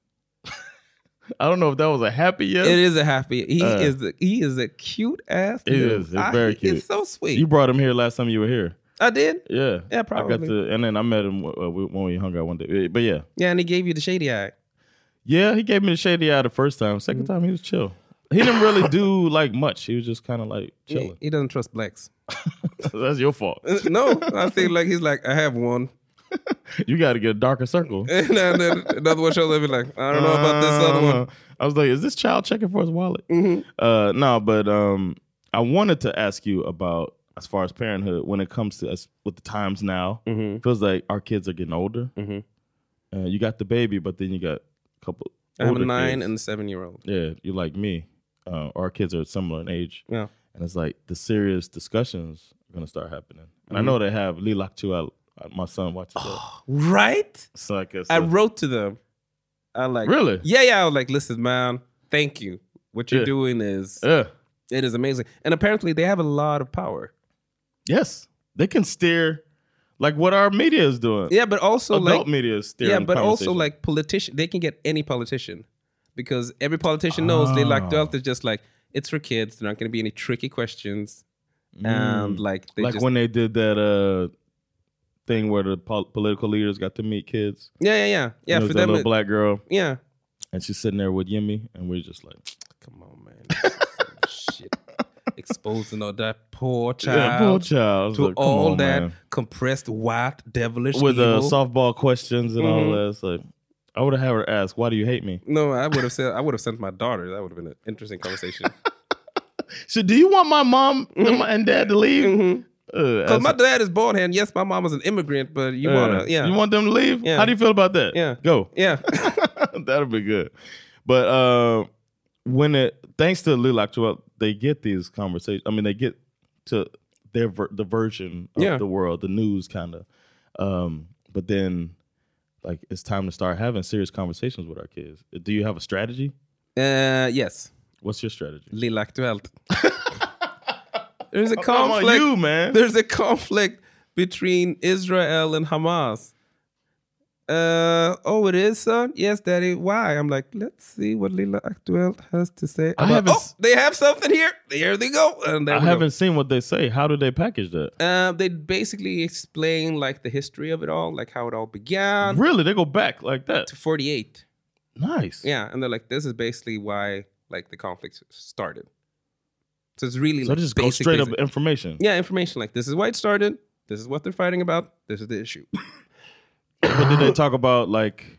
I don't know if that was a happy yes. it is a happy. He Uh, is. A, he is a cute ass. It dude. is. It's I- very cute. It's so sweet. You brought him here last time you were here. I did. Yeah. Yeah, I got probably. to, and then I met him uh, when we hung out one day. But yeah, Yeah, and he gave you the shady eye. yeah, he gave me the shady eye the first time. 2nd Mm-hmm. time he was chill. He didn't really do like much. He was just kind of like He, chilling. he doesn't trust blacks. That's your fault. No, I think like he's like, I have one. You got to get a darker circle. And then another one shows up and be like, I don't know about this other one. Uh, I was like, is this child checking for his wallet? Mm-hmm. Uh, no, but um, I wanted to ask you about as far as parenthood when it comes to us with the times now. Mm-hmm. Feels like our kids are getting older. Mhm. Uh, you got the baby, but then you got a couple. I have a older nine kids. and a seven year old. Yeah, you're like me. Uh, our kids are similar in age. Yeah. And it's like the serious discussions are going to start happening. And I Mm-hmm. know they have Lilak Chual. My son watches that. Right? So I guess. I uh, wrote to them. I like Really? Yeah, yeah. I was like, listen, man, thank you. What you're Yeah. doing is Yeah. it is amazing. And apparently they have a lot of power. Yes. They can steer like what our media is doing. Yeah, but also Adult like media is steering yeah, but also conversation. like politician, they can get any politician because every politician knows they like Oh. Delta is just like it's for kids. There aren't going to be any tricky questions, and like they like just when they did that uh thing where the pol- political leaders got to meet kids. yeah, yeah, yeah, yeah. And there For was that them, little it- black girl, yeah. and she's sitting there with Yemi, and we're just like, Come on, man. This is some shit. Exposing all that poor child, yeah, poor child. I was to like, come all on, that man. compressed white devilish With the evil. softball questions and all Mhm. that. It's like, I would have had her ask, "Why do you hate me?" No, I would have said I would have sent my daughter. That would have been an interesting conversation. So, do you want my mom and, my, and dad to leave? Mhm. Uh, Because my dad is bald head. Yes, my mom was an immigrant, but you uh, wanna, yeah, you want them to leave? Yeah. How do you feel about that? Yeah. Go. yeah. That'll be good. But uh, when it, thanks to Lil Actual, they get these conversations. I mean, they get to their ver- the version of Yeah. the world, the news kind of. Um, but then, like, it's time to start having serious conversations with our kids. Do you have a strategy? Uh, yes, What's your strategy? Lilla Aktuellt. There's a I'm talking about conflict. you, man. There's a conflict between Israel and Hamas. Uh, oh, it is, son? Yes, Daddy. Why? I'm like, let's see what Lilla Aktuellt has to say. I about- haven't oh, s- they have something here. Here they go. And there I we go. haven't seen what they say. How do they package that? Uh, they basically explain like the history of it all, like how it all began Really? They go back like that? to forty-eight. Nice. Yeah, and they're like, this is basically why like the conflict started. So it's really So like they just go basic, straight basic. up information. Yeah, information like this is why it started. This is what they're fighting about. This is the issue. But did they talk about like?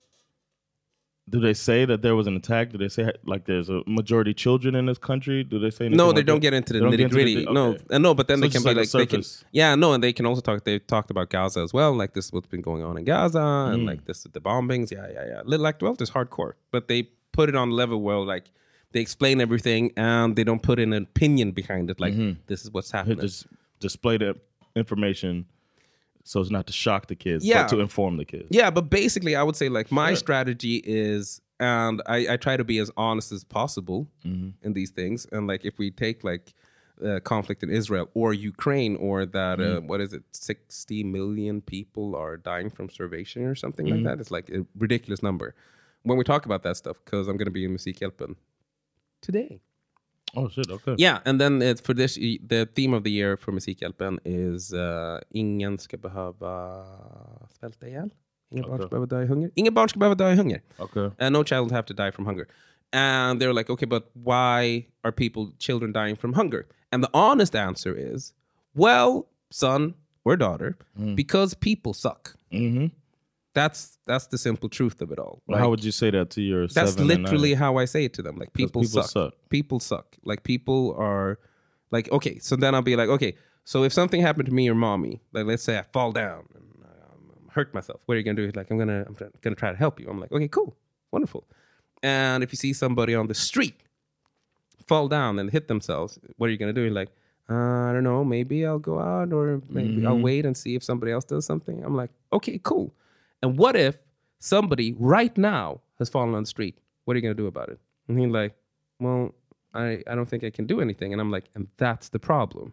Do they say that there was an attack? Do they say like there's a majority children in this country? Do they say anything No, like they don't that? get into the They don't get nitty into gritty. the- No, okay. uh, no, but then So they it's can just be like a like, they can, surface. yeah, no, and they can also talk. They talked about Gaza as well. Like this is what's been going on in Gaza, and Mm. like this is the bombings. Yeah, yeah, yeah. Little Act twelve is hardcore, but they put it on a level where like they explain everything and they don't put in an opinion behind it. Like this is what's They happening. just display the information so as not to shock the kids, Yeah. but to inform the kids. Yeah, but basically, I would say like my Sure. strategy is, and I, I try to be as honest as possible Mm-hmm. in these things. And like if we take like uh, conflict in Israel or Ukraine, or that uh, Mm-hmm. what is it, sixty million people are dying from starvation or something Mm-hmm. like that. It's like a ridiculous number when we talk about that stuff. Because I'm going to be in Musikhjälpen today. Oh shit! Okay. Yeah, and then it, for this, the theme of the year for Musikhjälpen is uh, ingen ska behöva svälta ihjäl. Inga barn ska Okay. behöva dö i hunger. Inga barn ska behöva dö i hunger. Okay. And no child will have to die from hunger. And they're like, okay, but why are people, children dying from hunger? And the honest answer is, well, son or daughter, Mm. because people suck. Mm-hmm. That's that's the simple truth of it all. Well, how would you say that to your That's seven and literally nine? how I say it to them. Like, people, people suck. suck. People suck. Like, people are like, okay, so then I'll be like, okay, so if something happened to me or mommy, like let's say I fall down and um, hurt myself, what are you gonna do? Like, I'm gonna I'm gonna try to help you. I'm like, okay, cool, wonderful. And if you see somebody on the street fall down and hit themselves, what are you gonna do? You're like, uh, I don't know, maybe I'll go out, or maybe I'll wait and see if somebody else does something. I'm like, okay, cool. And what if somebody right now has fallen on the street? What are you gonna do about it? And he's like, well, I, I don't think I can do anything. And I'm like, and that's the problem.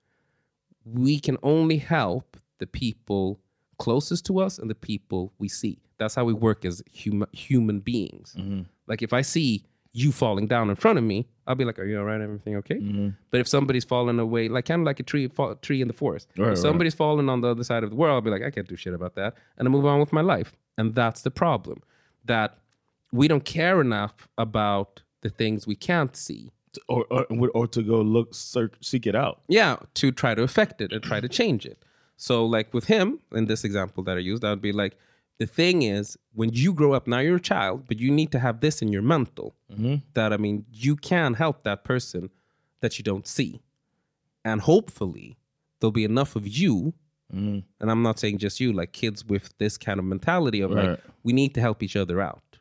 We can only help the people closest to us and the people we see. That's how we work as hum- human beings. Mm-hmm. Like, if I see you falling down in front of me, I'll be like, are you all right? Everything okay? Mm-hmm. But if somebody's falling away, like kind of like a tree fall, tree in the forest. Right, if somebody's falling on the other side of the world, I'll be like, I can't do shit about that. And I move on with my life. And that's the problem. That we don't care enough about the things we can't see. Or, or or to go look, search, seek it out. Yeah, to try to affect it and try to change it. So like with him, in this example that I used, I would be like, the thing is, when you grow up, now you're a child, but you need to have this in your mental. Mm-hmm. That, I mean, you can help that person that you don't see. And hopefully, there'll be enough of you, Mm-hmm. and I'm not saying just you, like kids with this kind of mentality of Right. like, we need to help each other out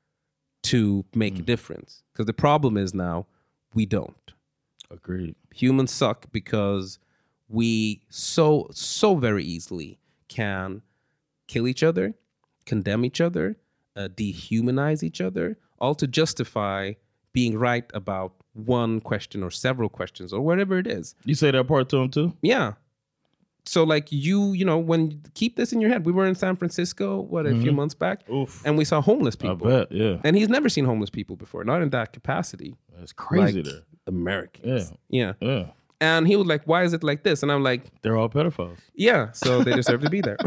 to make a difference. Because the problem is now, we don't. Agreed. Humans suck because we so, so very easily can kill each other, condemn each other, uh, dehumanize each other, all to justify being right about one question or several questions or whatever it is. You say that part to him too? Yeah. So like you, you know, when keep this in your head. We were in San Francisco, what, a few months back, Oof. and we saw homeless I people. bet, yeah. And he's never seen homeless people before, not in that capacity. That's crazy Like there. Americans. Yeah. Yeah. And he was like, why is it like this? And I'm like, They're all pedophiles. yeah, so they deserve to be there.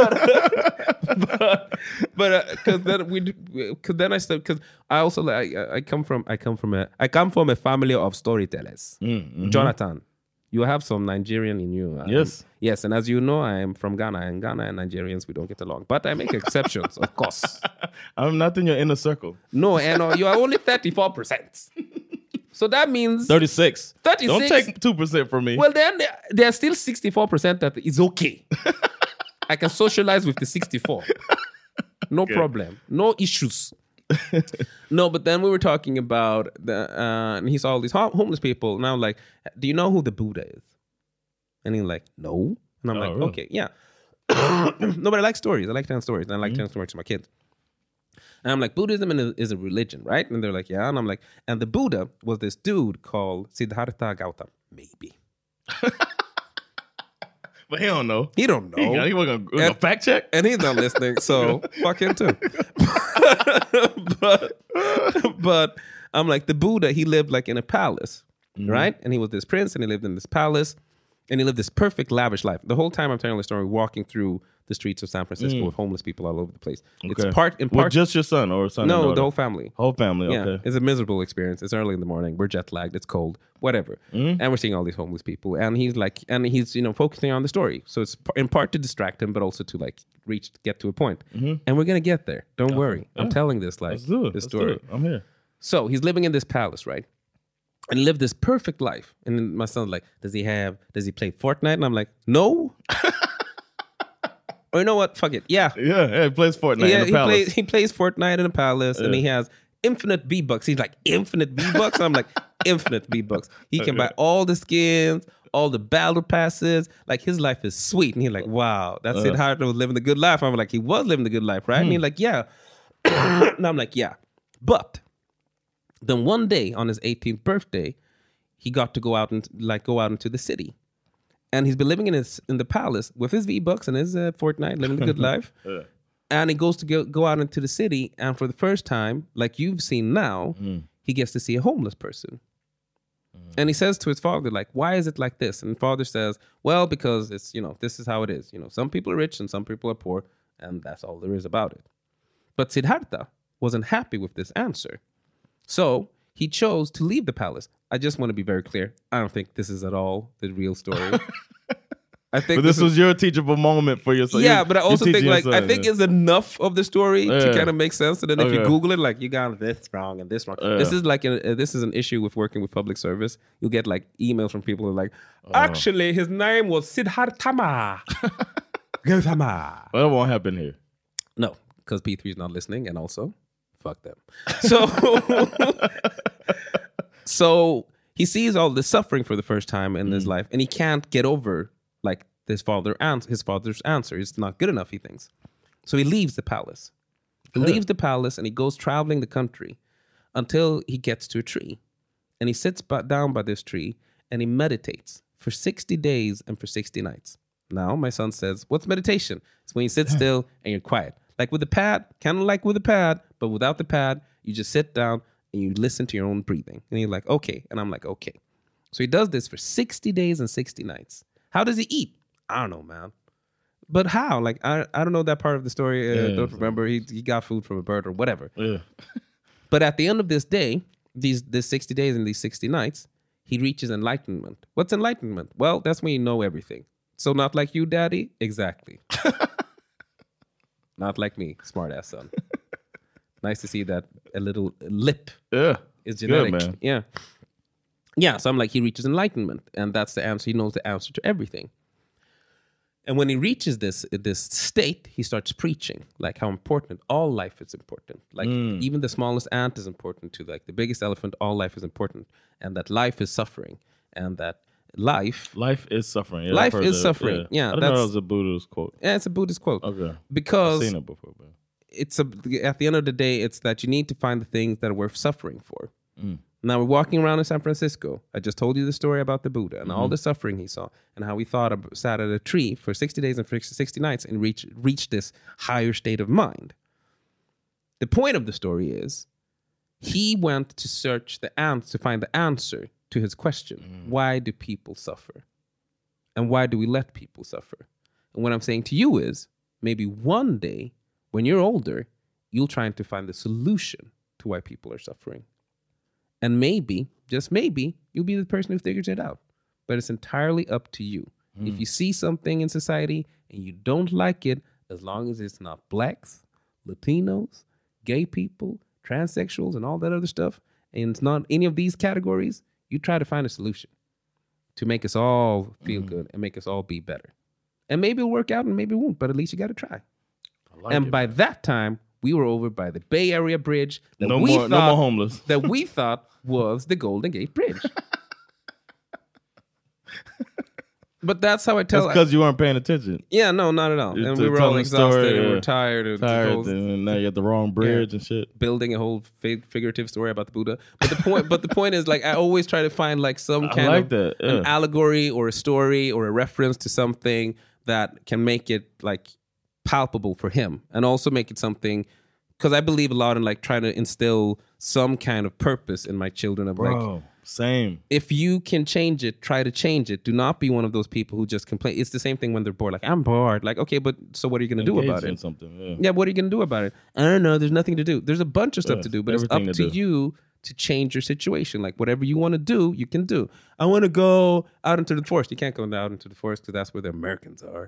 but but because then we because then I said because I also like I, I come from I come from a I come from a family of storytellers. Mm-hmm. Jonathan, you have some Nigerian in you. Um, Yes. Yes, and as you know, I am from Ghana, and Ghana and Nigerians we don't get along. But I make exceptions, of course. I'm not in your inner circle. No, and uh, you are only thirty-four percent. So that means thirty-six. thirty-six. Don't take two percent from me. Well, then there- there's still sixty-four percent that is okay. I can socialize with the sixty-four. No problem. No issues. No, but then we were talking about the, uh, and he saw all these ho- homeless people. And I'm like, do you know who the Buddha is? And he's like, no. And I'm Oh, like, really? okay, yeah. No, but I like stories. I like telling stories. And I like Mm-hmm. telling stories to my kids. And I'm like, Buddhism is a religion, right? And they're like, yeah. And I'm like, and the Buddha was this dude called Siddhartha Gautama. Maybe. But he don't know. He don't know. He, he wasn't gonna, And- fact check. And he's not listening, so fuck him too. but, but I'm like, the Buddha, he lived like in a palace, right? And he was this prince, and he lived in this palace, and he lived this perfect, lavish life. The whole time I'm telling the story, walking through the streets of San Francisco with homeless people all over the place. Okay. It's part in With part. just your son or son? and no, daughter? the whole family. Whole family. Yeah, Okay. it's a miserable experience. It's early in the morning. We're jet lagged. It's cold. Whatever. Mm-hmm. And we're seeing all these homeless people. And he's like, and he's you know focusing on the story. So it's p- in part to distract him, but also to like reach, get to a point. And we're gonna get there. Don't worry. I'm telling this like Let's do it. this Let's do story. it. I'm here. So he's living in this palace, right? And he lived this perfect life. And then my son's like, does he have? Does he play Fortnite? And I'm like, no. Or you know what? Fuck it. Yeah. Yeah, yeah, he plays Fortnite Yeah, in the he palace. plays he plays Fortnite in a palace, and Yeah. he has infinite V bucks. He's like infinite V bucks. I'm like infinite V bucks. He can buy all the skins, all the battle passes. Like his life is sweet, and he's like, wow, that's it. How was living the good life. I'm like, he was living the good life, right? And he's like, yeah. And I'm like, yeah, but then one day on his eighteenth birthday, he got to go out and like go out into the city. And he's been living in his in the palace with his V-Bucks and his uh, Fortnite, living the good life. Yeah. And he goes to go, go out into the city, and for the first time, like you've seen now, Mm. he gets to see a homeless person. And he says to his father, like, why is it like this? And father says, well, because it's, you know, this is how it is. You know, some people are rich and some people are poor, And that's all there is about it. But Siddhartha wasn't happy with this answer. So he chose to leave the palace. I just want to be very clear. I don't think this is at all the real story. I think but this, this was is, your teachable moment for yourself. Yeah, You're, but I also think like son, I think yeah. it's enough of the story yeah. to kind of make sense. And then if okay. you Google it, like you got this wrong and this wrong. Yeah. This is like a, this is an issue with working with public service. You'll get like emails from people who are like, actually, his name was Siddhartha Gautama. Well, that won't happen here. No, because P three is not listening, and also, fuck them. So, so he sees all this suffering for the first time in mm. his life, and he can't get over like his father ans- his father's answer. It's not good enough, he thinks. So he leaves the palace. He good. leaves the palace, and he goes traveling the country until he gets to a tree, and he sits by, down by this tree, and he meditates for sixty days and for sixty nights. Now, my son says, what's meditation? It's when you sit still and you're quiet. Like with the pad, kind of like with a pad, but without the pad, you just sit down and you listen to your own breathing. And you're like, okay. And I'm like, okay. So he does this for sixty days and sixty nights. How does he eat? I don't know, man. But how? Like, I I don't know that part of the story. I uh, yeah, don't remember. He, he got food from a bird or whatever. Yeah. But at the end of this day, these this sixty days and these sixty nights, he reaches enlightenment. What's enlightenment? Well, that's when you know everything. So not like you, daddy? Exactly. Not like me, smart ass son. Nice to see that a little lip yeah, is genetic. Good, man. Yeah. Yeah, so I'm like, he reaches enlightenment. And that's the answer. He knows the answer to everything. And when he reaches this, this state, he starts preaching, like how important all life is important. Like mm. even the smallest ant is important to like the biggest elephant, all life is important. And that life is suffering. And that life... Life is suffering. Yeah, life is that. suffering. Yeah, yeah I didn't know that was a Buddhist quote. Yeah, it's a Buddhist quote. Okay. Because I've seen it before. But... it's a, at the end of the day, it's that you need to find the things that are worth suffering for. Mm. Now, we're walking around in San Francisco. I just told you the story about the Buddha and mm-hmm. all the suffering he saw and how he thought of, sat at a tree for sixty days and for sixty nights and reached reached this higher state of mind. The point of the story is he went to search the answer, to find the answer to his question. Mm. Why do people suffer? And why do we let people suffer? And what I'm saying to you is maybe one day when you're older, you'll try to find the solution to why people are suffering. And maybe, just maybe, you'll be the person who figures it out. But it's entirely up to you. Mm. If you see something in society and you don't like it, as long as it's not blacks, Latinos, gay people, transsexuals, and all that other stuff, and it's not any of these categories, you try to find a solution to make us all feel mm. good and make us all be better. And maybe it'll work out and maybe it won't, but at least you got to try. Like and it, by man. that time, we were over by the Bay Area Bridge that no we more, thought no more homeless. that we thought was the Golden Gate Bridge. But that's how I tell. That's because you weren't paying attention. Yeah, no, not at all. You're and we were all exhausted story, and we yeah. were tired. And tired, and now you have the wrong bridge yeah, and shit. Building a whole fig- figurative story about the Buddha. But the point, but the point is, like, I always try to find like some kind like of that, yeah. an allegory or a story or a reference to something that can make it like palpable for him, and also make it something. Because I believe a lot in like trying to instill some kind of purpose in my children. Of Bro, like, same. If you can change it, try to change it. Do not be one of those people who just complain. It's the same thing when they're bored. Like, I'm bored. Like, okay, but so what are you going to do about it? Something, yeah. yeah, what are you going to do about it? I don't know. There's nothing to do. There's a bunch of stuff yeah, to do, but it's up to, to you to change your situation. Like, whatever you want to do, you can do. I want to go out into the forest. You can't go out into the forest because that's where the Americans are.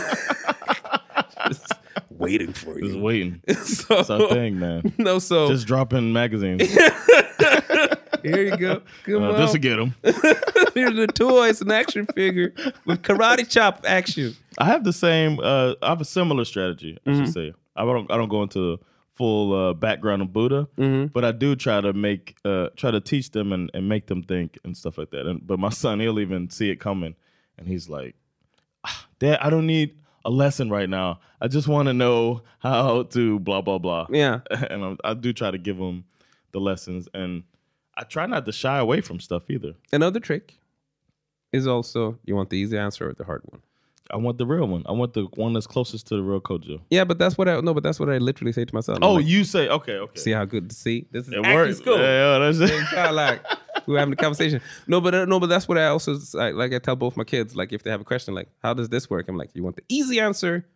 Just waiting for you. Just waiting. So, that's our thing, man. No, so just dropping magazines. Here you go. Come uh, on. This will get them. Here's the toys, an action figure with karate chop action. I have the same. Uh, I have a similar strategy. I mm-hmm. should say. I don't. I don't go into full uh, background of Buddha, mm-hmm. but I do try to make, uh, try to teach them and, and make them think and stuff like that. And but my son, he'll even see it coming, and he's like, ah, "Dad, I don't need a lesson right now. I just want to know how to blah blah blah." Yeah, and I, I do try to give him the lessons, and I try not to shy away from stuff either. Another trick is also you want the easy answer or the hard one. I want the real one. I want the one that's closest to the real Kojo. Yeah, but that's what I no, but that's what I literally say to myself. Oh, like, you say okay, okay. See how good? See, this is it acting works. school. Yeah, yeah, that's it. It's kind of like we're having a conversation. No, but uh, no, but that's what I also like. Like I tell both my kids, like if they have a question, like how does this work? I'm like, you want the easy answer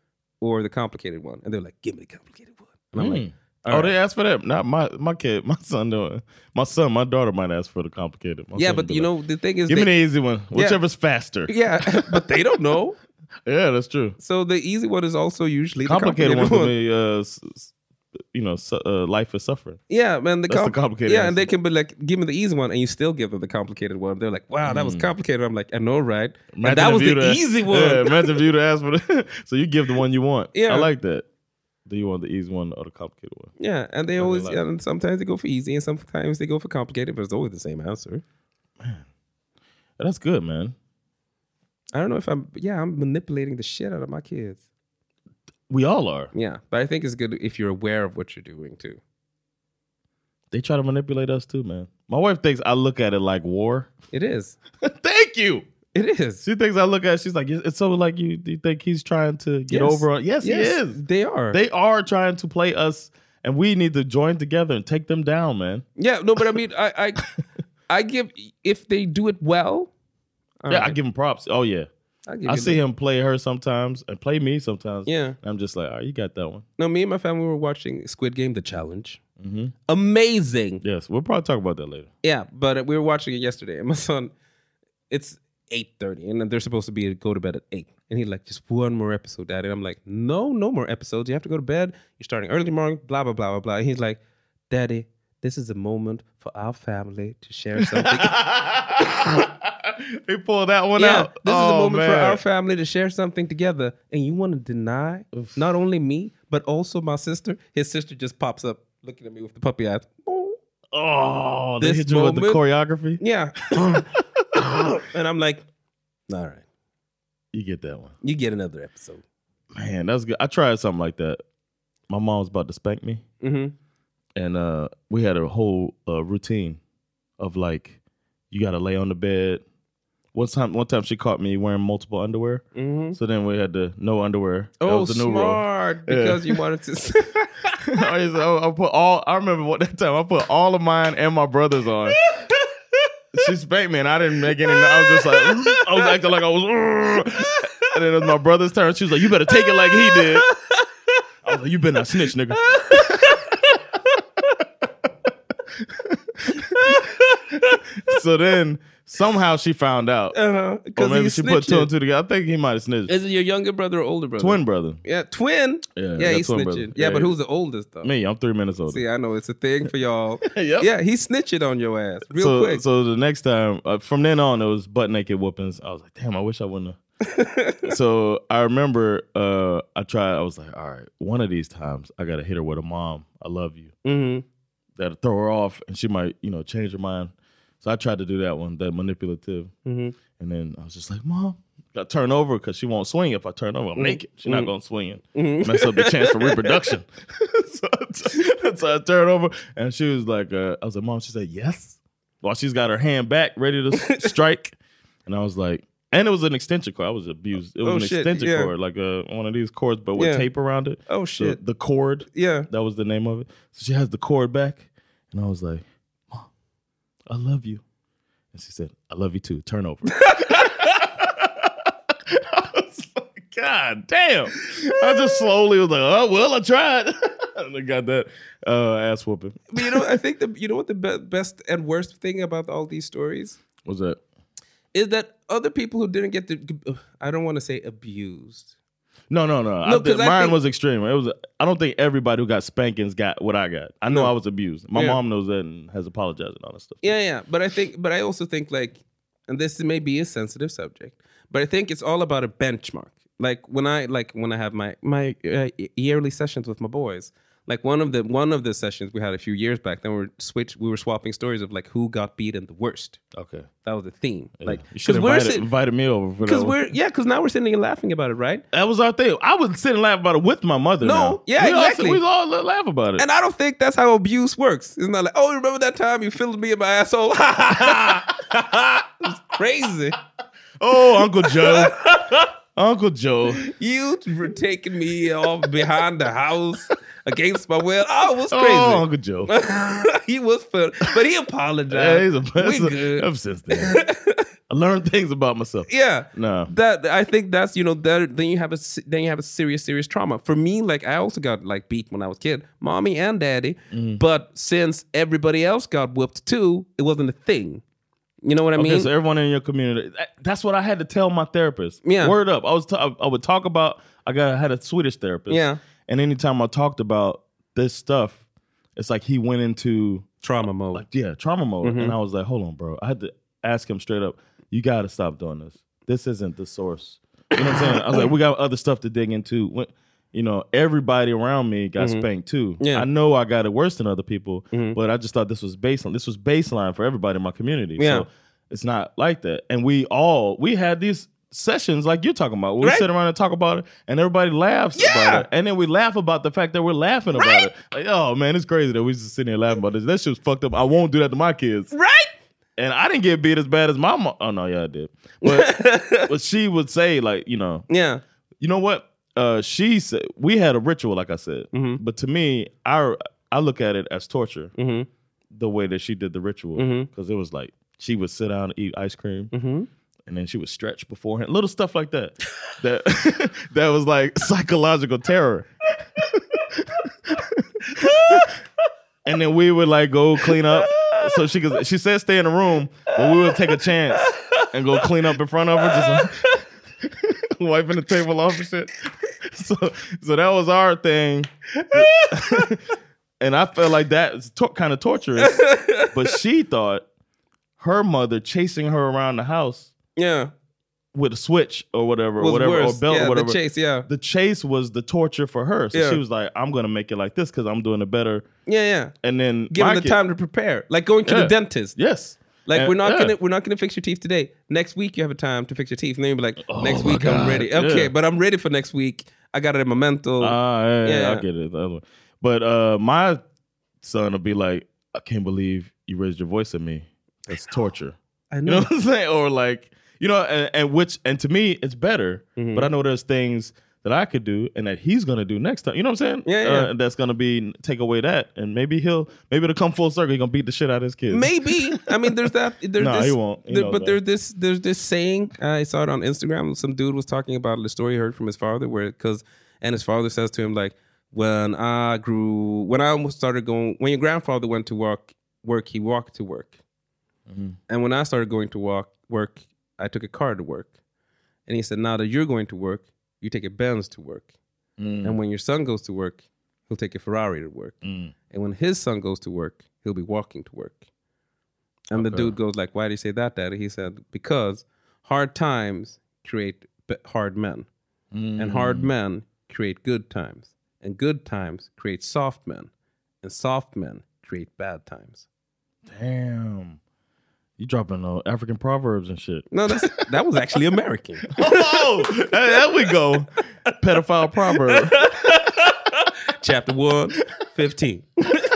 or the complicated one? And they're like, give me the complicated one. And I'm Mm. like, oh, all they right. asked for that. Not my my kid, my son doing. My son, my daughter might ask for the complicated. My Yeah, son but be you like, know, the thing is, give they, me the easy one, Yeah. whichever's faster. yeah, but they don't know. Yeah, that's true. So the easy one is also usually Complicated, the one complicated for one. me, uh, s- s- you know, su- uh, life is suffering. Yeah, man. The, That's com- the complicated Yeah, answer. and they can be like, give me the easy one, and you still give them the complicated one. They're like, wow, that was complicated. I'm like, I know, right? And Imagine that if was you'd the have- easy one. Yeah, imagine if you'd have asked for the. So you give the one you want. Yeah. I like that. Do you want the easy one or the complicated one? Yeah, and they Okay, always, like- yeah, and sometimes they go for easy, and sometimes they go for complicated, but it's always the same answer. That's good, man. I don't know if I'm, yeah, I'm manipulating the shit out of my kids. We all are. Yeah, but I think it's good if you're aware of what you're doing too. They try to manipulate us too, man. My wife thinks I look at it like war. It is. Thank you. It is. She thinks I look at it, she's like, it's so like you, you think he's trying to get Yes. over on. Yes, Yes, he is. they are. They are trying to play us, and we need to join together and take them down, man. Yeah, no, but I mean, I, I, I give if they do it well. all Yeah, I right. give him props. Oh, yeah. I, give I you see the- him play her sometimes and play me sometimes. Yeah. And I'm just like, all right, you got that one. No, me and my family were watching Squid Game: The Challenge. Mm-hmm. Amazing. Yes, we'll probably talk about that later. Yeah, but we were watching it yesterday, and my son, it's eight thirty, and they're supposed to be go to bed at eight, and he's like, just one more episode, Daddy. And I'm like, no, no more episodes. You have to go to bed. You're starting early tomorrow. Blah blah blah blah blah. And he's like, Daddy, this is a moment for our family to share something. He pulled that one Yeah, out. this is Oh, a moment for man. our family to share something together, and you want to deny not only me but also my sister. His sister just pops up, looking at me with the puppy eyes. Oh, they This hit you with the moment- choreography? Yeah, and I'm like, all right, You get that one. you get another episode. Man, that's good. I tried something like that. My mom was about to spank me, Mm-hmm. and uh, we had a whole uh, routine of like, you got to lay on the bed. One time, one time she caught me wearing multiple underwear, Mm-hmm. so then we had the no underwear. That Oh, was the new rule. smart! Yeah. Because you wanted to. I, used to- I put all. I remember what that time I put all of mine and my brother's on. She spanked me, and I didn't make any. I was just like, I was acting like I was. And then it was my brother's turn. She was like, "You better take it like he did." I was like, "You better not snitch, nigga." So then somehow she found out, uh-huh, or because maybe he's she put two and snitching. two together. I think he might have snitched. Is it your younger brother or older brother? Twin brother. Yeah, twin. Yeah, I yeah, got he's twin snitching. brother. Yeah, Yeah, but he- who's the oldest though? Me, I'm three minutes older. See, I know it's a thing for y'all. Yep. Yeah, he's snitching on your ass real so, quick. So the next time, uh, from then on, it was butt naked whoopings. I was like, damn, I wish I wouldn't have. So I remember uh, I tried, I was like, all right, one of these times I got to hit her with a mom. I love you. Mm-hmm. That'll throw her off and she might, you know, change her mind. So I tried to do that one, that manipulative. Mm-hmm. And then I was just like, Mom, got to turn over because she won't swing if I turn over. I'm Mm-hmm. naked. She's not going to swing and mess up the chance for reproduction. so, I- so I turned over and she was like, uh, I was like, Mom, she said, yes. While she's got her hand back, ready to s- strike. And I was like, and it was an extension cord. I was abused. It was Oh, an shit, extension yeah. cord, like uh, one of these cords, but with Yeah. tape around it. Oh, The- shit. The, cord. Yeah. That was the name of it. So she has the cord back. And I was like, Mom, I love you. And she said, I love you too. Turn over. I was like, God damn. I just slowly was like, oh, well, I tried. And I got that uh, ass whooping. But you know, I think the you know what the be- best and worst thing about all these stories What's that? is that other people who didn't get to, I don't want to say abused. No, no, no. No, I, 'cause I mine think- was extreme. It was. I don't think everybody who got spankings got what I got. I know No. I was abused. My Yeah. mom knows that and has apologized and all that stuff. Yeah, yeah. But I think, but I also think like, and this may be a sensitive subject, but I think it's all about a benchmark. Like when I like when I have my my uh, yearly sessions with my boys. Like one of the one of the sessions we had a few years back. Then we were switch. We were swapping stories of like who got beaten the worst. Okay. That was the theme. Yeah. Like You should have we're invited, sit- invited me over for that. Because one. we're yeah, because now we're sitting and laughing about it, right? That was our thing. I was sitting laughing about it with my mother. No, now. yeah, we all, exactly. we all laugh about it. And I don't think that's how abuse works. It's not like, oh, remember that time you filled me in my asshole? It's crazy. Oh, Uncle Joe. Uncle Joe. You were taking me off behind the house against my will. Oh, it was crazy. Oh, Uncle Joe. He was fun, but he apologized. Yeah, he's a we that's a- good. Ever since then. I learned things about myself. Yeah, no, that I think that's you know that then you have a then you have a serious serious trauma. For me, like I also got like beat when I was a kid, mommy and daddy. Mm. But since everybody else got whooped too, it wasn't a thing. You know what I okay, mean? So everyone in your community, that's what I had to tell my therapist. Yeah, word up. I was t- I would talk about. I got I had a Swedish therapist. Yeah, and anytime I talked about this stuff, it's like he went into trauma mode. Like, yeah, trauma mode. Mm-hmm. And I was like, hold on, bro. I had to ask him straight up. You got to stop doing this. This isn't the source. You know what I'm saying? I was like, we got other stuff to dig into. When, you know, everybody around me got Mm-hmm. spanked too. Yeah. I know I got it worse than other people, Mm-hmm. but I just thought this was baseline. This was baseline for everybody in my community. Yeah. So it's not like that. And we all, we had these sessions like you're talking about. We right. sit around and talk about it, and everybody laughs yeah. about it. And then we laugh about the fact that we're laughing about right. it. Like, oh man, it's crazy that we just sitting here laughing about this. That shit was fucked up. I won't do that to my kids. Right. And I didn't get beat as bad as my mom. Oh no, yeah, I did. But but she would say, like, you know, yeah, you know what? Uh, she said we had a ritual, like I said. Mm-hmm. But to me, I I look at it as torture. Mm-hmm. The way that she did the ritual, because Mm-hmm. it was like she would sit down and eat ice cream. Mm-hmm. And then she would stretch beforehand, little stuff like that. that that was like psychological terror. And then we would like go clean up. So she could. She said stay in the room, but we would take a chance and go clean up in front of her, just like, wiping the table off and shit. So so that was our thing. And I felt like that was to- kind of torturous. But she thought her mother chasing her around the house. Yeah, with a switch or whatever, or was whatever, worse. or belt yeah, or whatever. The chase, yeah. The chase was the torture for her. So Yeah. she was like, I'm going to make it like this because I'm doing it better. Yeah, yeah. And then Give my them the kid- time to prepare. Like going to Yeah. the dentist. Yes. Like And- we're not yeah. gonna we're not gonna fix your teeth today. Next week you have a time to fix your teeth, and then you'll be like, Oh next my week I'm God. ready. Okay, Yeah. but I'm ready for next week. I got it in Memento. Ah, yeah, yeah, Yeah. I get it. The other one. But uh, my son will be like, I can't believe you raised your voice at me. That's torture. I You know. know what I'm saying? Or like, you know, and, and which, and to me, it's better. Mm-hmm. But I know there's things that I could do and that he's gonna do next time. You know what I'm saying? Yeah, yeah. Uh, and that's gonna be take away that, and maybe he'll maybe it'll come full circle. He's gonna beat the shit out of his kids. Maybe. I mean, there's that. There's No, this, he won't. He there- knows but that. there's this. There's this saying. Uh, I saw it on Instagram. Some dude was talking about the story he heard from his father, where because and his father says to him like, when I grew, when I started going, when your grandfather went to work, work he walked to work, Mm-hmm. and when I started going to walk work, I took a car to work, and he said, now that you're going to work, you take a Benz to work. Mm. And when your son goes to work, he'll take a Ferrari to work. Mm. And when his son goes to work, he'll be walking to work. And the Okay. dude goes like, why do you say that, Daddy? He said, because hard times create b- hard men. Mm. And hard men create good times. And good times create soft men. And soft men create bad times. Damn. You dropping uh, African proverbs and shit. No, that's, that was actually American. Oh, hey, there we go. Pedophile proverb. Chapter one, fifteen.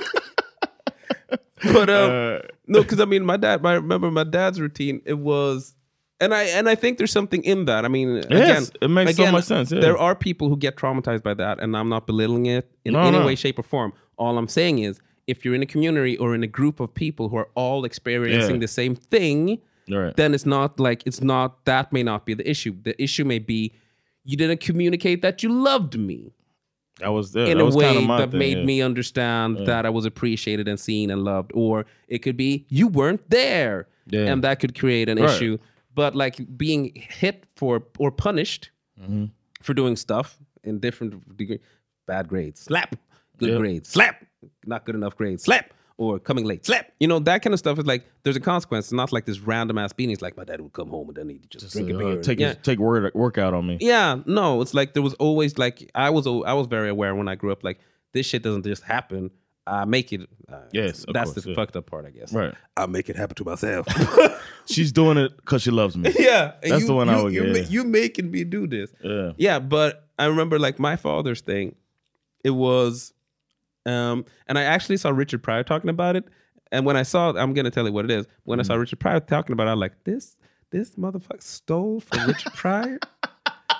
But um, Uh, no, because I mean, my dad. I remember my dad's routine. It was, and I and I think there's something in that. I mean, again, it makes so again, much sense, yeah. There are people who get traumatized by that, and I'm not belittling it in No, any no. way, shape, or form. All I'm saying is, if you're in a community or in a group of people who are all experiencing Yeah. the same thing, Right. then it's not like it's not that may not be the issue. The issue may be you didn't communicate that you loved me. I was there. In that a was way kinda my that thing, made yeah. me understand that I was appreciated and seen and loved. Or it could be you weren't there. Yeah. And that could create an Right. issue. But like being hit for or punished Mm-hmm. for doing stuff in different degree, bad grades, slap, good Yeah. grades, slap, not good enough grades, slap, or coming late, slap. You know, that kind of stuff is like, there's a consequence. It's not like this random ass beating. It's like my dad would come home and then he'd just, Just, drink a uh, beer. and- take yeah. his, take word workout on me. Yeah, no, it's like there was always like I was I was very aware when I grew up like this shit doesn't just happen. I make it. Uh, Yes, of that's course, the yeah. fucked up part, I guess. Right. I make it happen to myself. She's doing it because she loves me. yeah, and That's you, the one you, I would you, get. ma- yeah. you making me do this. Yeah. Yeah, but I remember like my father's thing. It was, um, and I actually saw Richard Pryor talking about it. And when I saw, I'm gonna tell you what it is. When I saw Richard Pryor talking about it, I was like, this this motherfucker stole from Richard Pryor.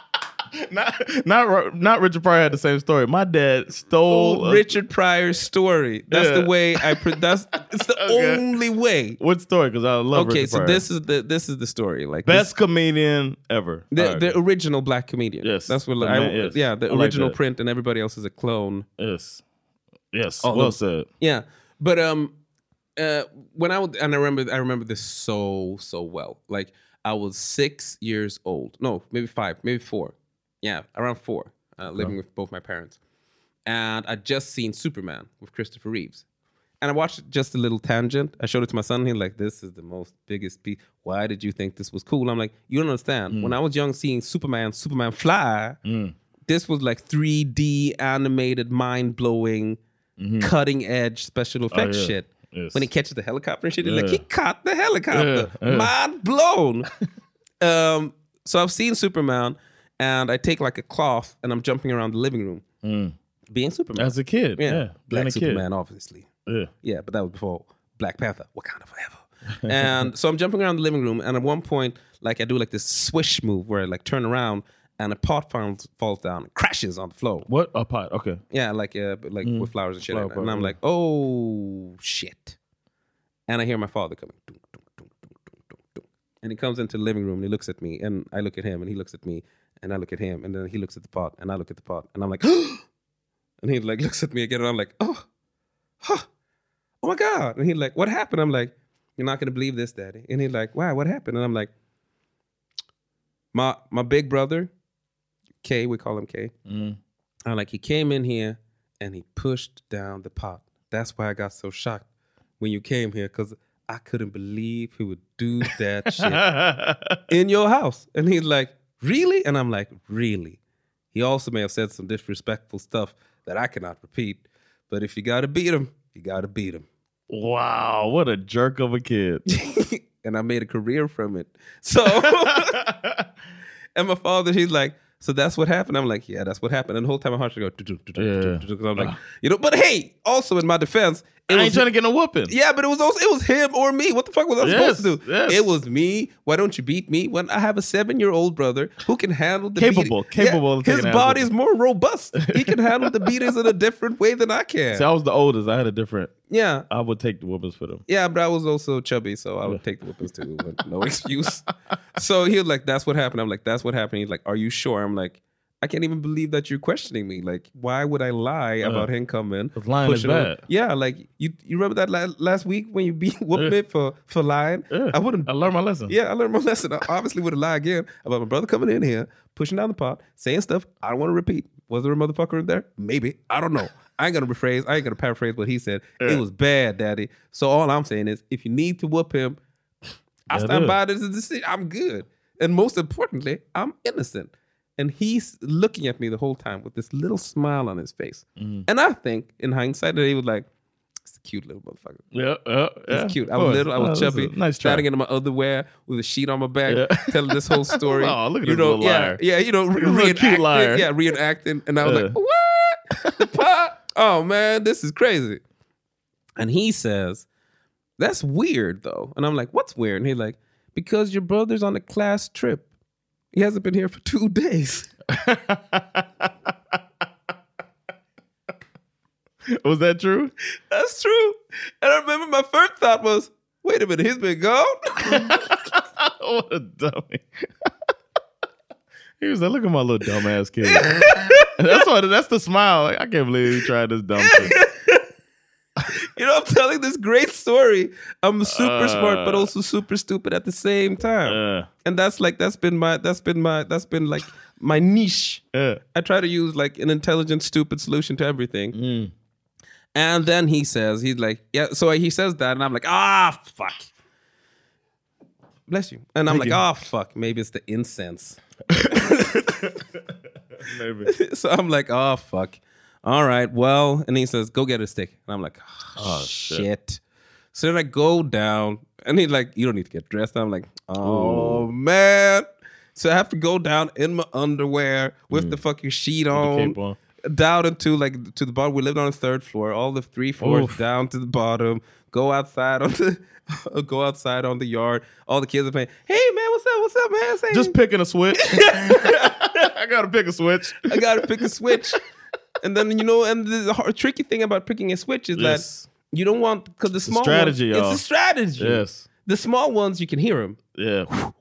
not, not, not Richard Pryor had the same story. My dad stole Old Richard Pryor's story. That's Yeah. the way I. Pre- that's it's the Okay. only way. What story? Because I love Okay, Richard so Pryor. this is the this is the story. Like Best this, comedian ever. the All right, the good. original black comedian. Yes. that's what The I. man- yes. Yeah, the I like original that. print, and everybody else is a clone. Yes. Yes. All well the- said. Yeah, but um, uh, when I would, and I remember, I remember this so so well. Like I was six years old. No, maybe five, maybe four. Yeah, around four, uh, living with both my parents, and I just seen Superman with Christopher Reeves, and I watched just a little tangent. I showed it to my son. And he's like, "This is the most biggest piece. Why did you think this was cool?" I'm like, "You don't understand. Mm. When I was young, seeing Superman, Superman fly." This was like three D animated, mind blowing, cutting edge special effects Mm-hmm. Oh, yeah. shit. Yes. When he catches the helicopter and shit, he's Yeah. like, he caught the helicopter. Yeah, yeah. Mind blown. um, so I've seen Superman, and I take like a cloth and I'm jumping around the living room, being Superman. As a kid. Yeah. being Black a kid. Superman, obviously. Yeah. Yeah, but that was before Black Panther, Wakanda Forever. And so I'm jumping around the living room, and at one point, like I do like this swish move where I like turn around, and a pot falls, falls down and crashes on the floor. What? A pot. Okay. Yeah, like uh, but, like with flowers and shit. Flower in it. And pot, I'm yeah. like, oh shit. And I hear my father coming. Dunk, dunk, dunk, dunk, dunk, dunk, dunk. And he comes into the living room and he looks at me, and I look at him, and he looks at me, and I look at him, and then he looks at the pot, and I look at the pot, and I'm like, and he like looks at me again, and I'm like, oh, huh, oh my God. And he's like, what happened? I'm like, you're not gonna believe this, Daddy. And he's like, why? What happened? And I'm like, my my big brother, K, we call him K. Mm. I'm like, he came in here and he pushed down the pot. That's why I got so shocked when you came here, because I couldn't believe he would do that shit in your house. And he's like, really? And I'm like, really? He also may have said some disrespectful stuff that I cannot repeat. But if you got to beat him, you got to beat him. Wow. What a jerk of a kid. And I made a career from it. So, and my father, he's like, so that's what happened. I'm like, yeah, that's what happened. And the whole time my heart should go, because I'm like, you know, but hey, also in my defense, it I was, ain't trying to get no whooping. yeah, but it was also, it was him or me. What the fuck was I Yes, supposed to do? yes. It was me. Why don't you beat me? When I have a seven-year-old brother who can handle the Capable, beating. capable of His taking ass body is whooping. more robust. He can handle the beatings in a different way than I can. See, I was the oldest. I had a different. Yeah. I would take the whoopings for them. Yeah, but I was also chubby, so I would take the whippings too. But no excuse. So he was like, that's what happened. I'm like, that's what happened. He's like, are you sure? I'm like, I can't even believe that you're questioning me. Like, why would I lie about him coming? 'Cause lying is pushing on- bad. Yeah, like you you remember that la- last week when you beat whooped me for, for lying? Yeah. I wouldn't. I learned my lesson. Yeah, I learned my lesson. I obviously wouldn't lie again about my brother coming in here, pushing down the pot, saying stuff I don't want to repeat. Was there a motherfucker in there? Maybe. I don't know. I ain't gonna rephrase. I ain't gonna paraphrase what he said. It was bad, Daddy. So all I'm saying is, if you need to whoop him, I Yeah, stand it by this decision. I'm good. And most importantly, I'm innocent. And he's looking at me the whole time with this little smile on his face. Mm-hmm. And I think, in hindsight, that he was like, it's a cute little motherfucker. Yeah, yeah, yeah. It's cute. I Of was course. little. I Oh, was that's a chubby. nice try. Standing in my underwear with a sheet on my back, Yeah. telling this whole story. Oh, look at you this know, little yeah, liar. yeah, you know, re- He's a little cute reenacting. liar. Yeah, reenacting. And I was Yeah. like, what? The pot? Oh man, this is crazy. And he says, that's weird though. And I'm like, what's weird? And he's like, because your brother's on a class trip. He hasn't been here for two days. Was that true? That's true. And I remember my first thought was, wait a minute, he's been gone? What a dummy. He was like, look at my little dumbass kid. That's what. That's the smile. Like, I can't believe he tried this dumb shit. You know, I'm telling this great story. I'm super Uh, smart, but also super stupid at the same time. Uh, And that's like that's been my that's been my that's been like my niche. yeah. I try to use like an intelligent, stupid solution to everything. Mm. And then he says, he's like, yeah. So he says that, and I'm like, ah, fuck. Bless you. And I'm Thank like, you. oh fuck, maybe it's the incense. Maybe. So I'm like, oh fuck. All right, well, and he says, go get a stick. And I'm like, oh, shit. shit. So then I go down, and he's like, you don't need to get dressed. And I'm like, oh man. So I have to go down in my underwear with the fucking sheet on, cape on. down into like to the bottom. We lived on the third floor, all the three floors Oof. down to the bottom. Go outside on the go outside on the yard. All the kids are playing. Hey man, what's up? What's up, man? Say, Just picking a switch. I gotta pick a switch. I gotta pick a switch. And then, you know, and the hard, tricky thing about picking a switch is Yes. that you don't want, because the small strategy, ones, y'all. it's a strategy. Yes. The small ones, you can hear them. Yeah.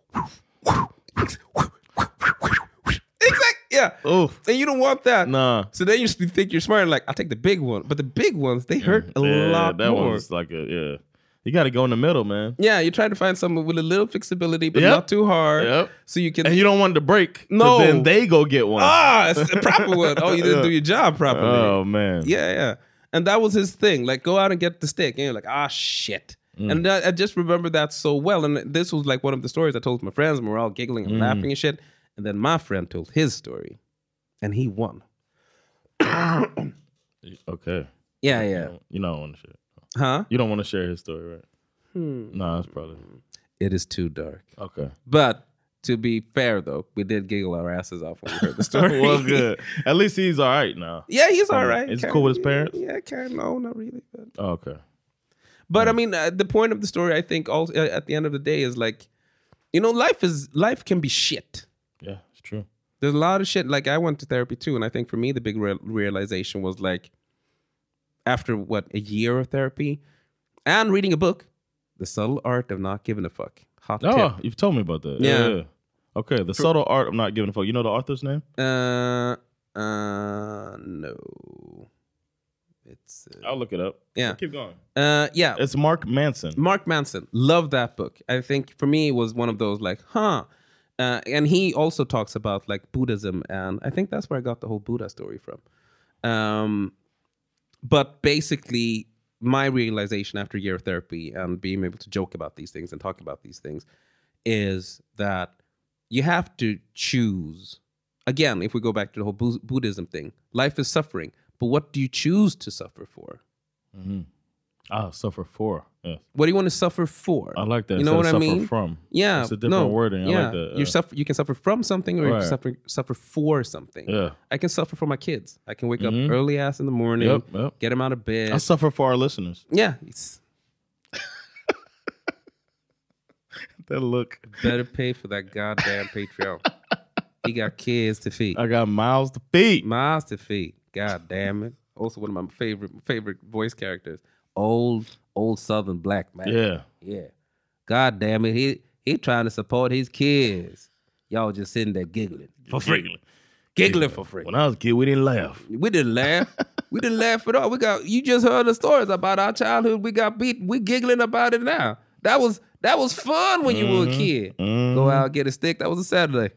Exactly. Yeah. Oh. And you don't want that. Nah. So then you just think you're smart and like, I'll take the big one. But the big ones, they hurt a Yeah, lot that more. one's like a yeah. You got to go in the middle, man. Yeah, you're trying to find someone with a little flexibility, but Yep. not too hard. Yep. So you can. And you don't want it to break. No. Then they go get one. Ah, it's a proper one. Oh, you didn't do your job properly. Oh man. Yeah, yeah. And that was his thing. Like, go out and get the stick. And you're like, ah, shit. Mm. And I, I just remember that so well. And this was like one of the stories I told my friends, and we were all giggling and Mm. laughing and shit. And then my friend told his story, and he won. Okay. Yeah, yeah. You don't want to share. Huh? You don't want to share his story, right? Hmm. No, that's probably. It is too dark. Okay. But to be fair, though, we did giggle our asses off when we heard the story. It was good. At least he's all right now. Yeah, he's all Um, right. Is he Kinda- cool with his parents? Yeah, kind of. No, not really. But, Oh, okay. but I mean, uh, the point of the story, I think, also uh, at the end of the day, is like, you know, life is life can be shit. Yeah, it's true. There's a lot of shit. Like, I went to therapy too, and I think for me, the big real realization was like, after what a year of therapy and reading a book, The Subtle Art of Not Giving a Fuck. Hot Oh, tip. you've told me about that. Yeah. Yeah. Okay. The subtle art of not giving a fuck. You know the author's name? Uh, uh, no. It's uh, I'll look it up. Yeah. Keep going. uh, yeah. It's Mark Manson. Mark Manson. Love that book. I think for me it was one of those like, huh. Uh, and he also talks about like Buddhism, and I think that's where I got the whole Buddha story from. Um, but basically, my realization after a year of therapy and being able to joke about these things and talk about these things is that you have to choose. Again, if we go back to the whole Bu- Buddhism thing, life is suffering, but what do you choose to suffer for? Mm-hmm. Ah, suffer for. Yes. What do you want to suffer for? I like that. You know Instead what of I suffer mean? from. Yeah, It's a different no, wording. I yeah. like that. You Yeah. suffer. You can suffer from something, or you Right. can suffer suffer for something. Yeah. I can suffer for my kids. I can wake Mhm. up early ass in the morning, Yep, yep. get them out of bed. I suffer for our listeners. Yeah, it's That look. better pay for that goddamn Patreon. He got kids to feed, I got miles to feed. miles to feed. God damn it! Also, one of my favorite favorite voice characters, old old Southern black man. Yeah. yeah. God damn it! He he trying to support his kids. Y'all just sitting there giggling for free, Giggling. giggling for free. When I was a kid, we didn't laugh. We didn't laugh. We didn't laugh at all. We got you just heard the stories about our childhood. We got beat. We giggling about it now. That was that was fun when you were a kid. Go out, get a stick. That was a Saturday.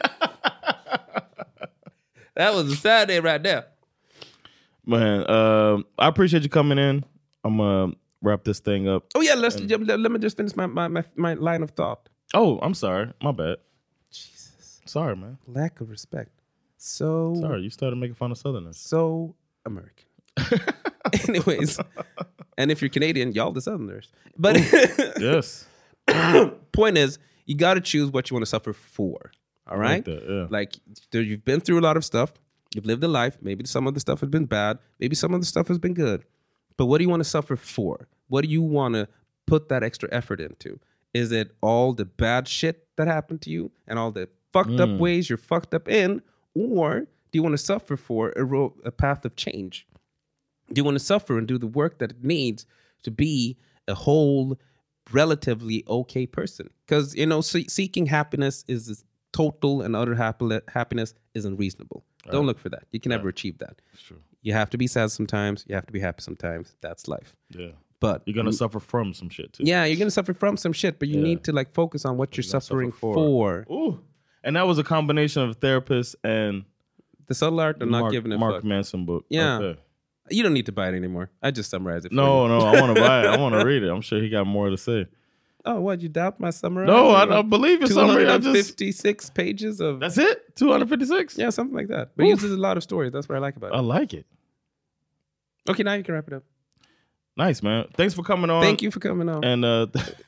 That was a Saturday right there. Man, um, I appreciate you coming in. I'm going to wrap this thing up. Oh yeah, let's let, let me just finish my, my my my line of thought. Oh, I'm sorry. My bad. Jesus, Sorry, man. lack of respect. So Sorry, you started making fun of Southerners. so American. Anyways, and if you're Canadian, y'all the Southerners. But Yes. point is, you got to choose what you want to suffer for. All I right, like that, yeah. like there, you've been through a lot of stuff. You've lived a life. Maybe some of the stuff has been bad. Maybe some of the stuff has been good. But what do you want to suffer for? What do you want to put that extra effort into? Is it all the bad shit that happened to you and all the fucked up ways you're fucked up in? Or do you want to suffer for a, ro- a path of change? Do you want to suffer and do the work that it needs to be a whole, relatively okay person? Because, you know, se- seeking happiness is is total and utter happy- happiness is unreasonable. Don't Right. look for that. You can never achieve that. That's true. You have to be sad sometimes. You have to be happy sometimes. That's life. Yeah. But You're going to suffer from some shit, too. yeah, you're gonna suffer from some shit, but you Yeah. need to like focus on what you're gonna suffering suffer for. for. Ooh. And that was a combination of a therapist and The subtle art of not Mark, giving a Mark fuck. Manson book. Yeah. Okay. You don't need to buy it anymore. I just summarized it. For No, you. no, I want to buy it. I want to read it. I'm sure he got more to say. Oh, what? You doubt my summary? No, I, I believe your summary. I just fifty-six pages of. That's it. two hundred fifty-six. Yeah, something like that. But it uses a lot of stories. That's what I like about it. I like it. Okay, now you can wrap it up. Nice, man. Thanks for coming on. Thank you for coming on. And uh,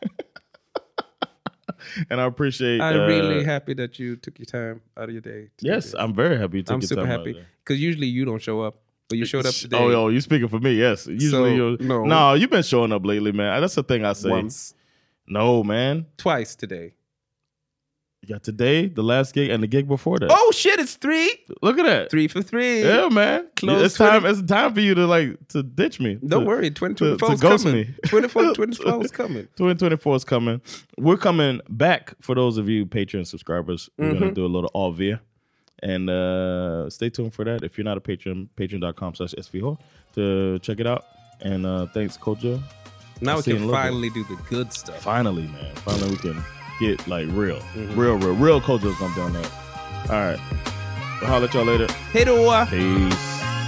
and I appreciate. I'm uh, really happy that you took your time out of your day. to do Yes, this. I'm very happy you took I'm your super time out happy of there. because usually you don't show up, but you showed up today. Oh, yo, you speaking for me? Yes. Usually, So, you no. no, you've been showing up lately, man. That's the thing I say. once, No, man. twice today. You got today, the last gig, and the gig before that. Oh shit, it's three. Look at that. Three for three. Yeah, man. Close it's time. twenty It's time for you to like to ditch me. Don't to, worry, twenty twenty-four to, is to ghost coming. me. twenty-four twenty-four is coming. twenty twenty-four is coming. We're coming back for those of you Patreon subscribers. We're Mm-hmm. gonna do a little all via, and uh, stay tuned for that. If you're not a patron, patreon.com slash svho to check it out. And uh, thanks, Kojo. Now I'll we see you in can a little finally do the good stuff. Finally, man. Finally, we can get like real, Mm-hmm. real, real, real. Kojo's gonna be on that. All right. I'll holler at y'all later. Hey, do Peace.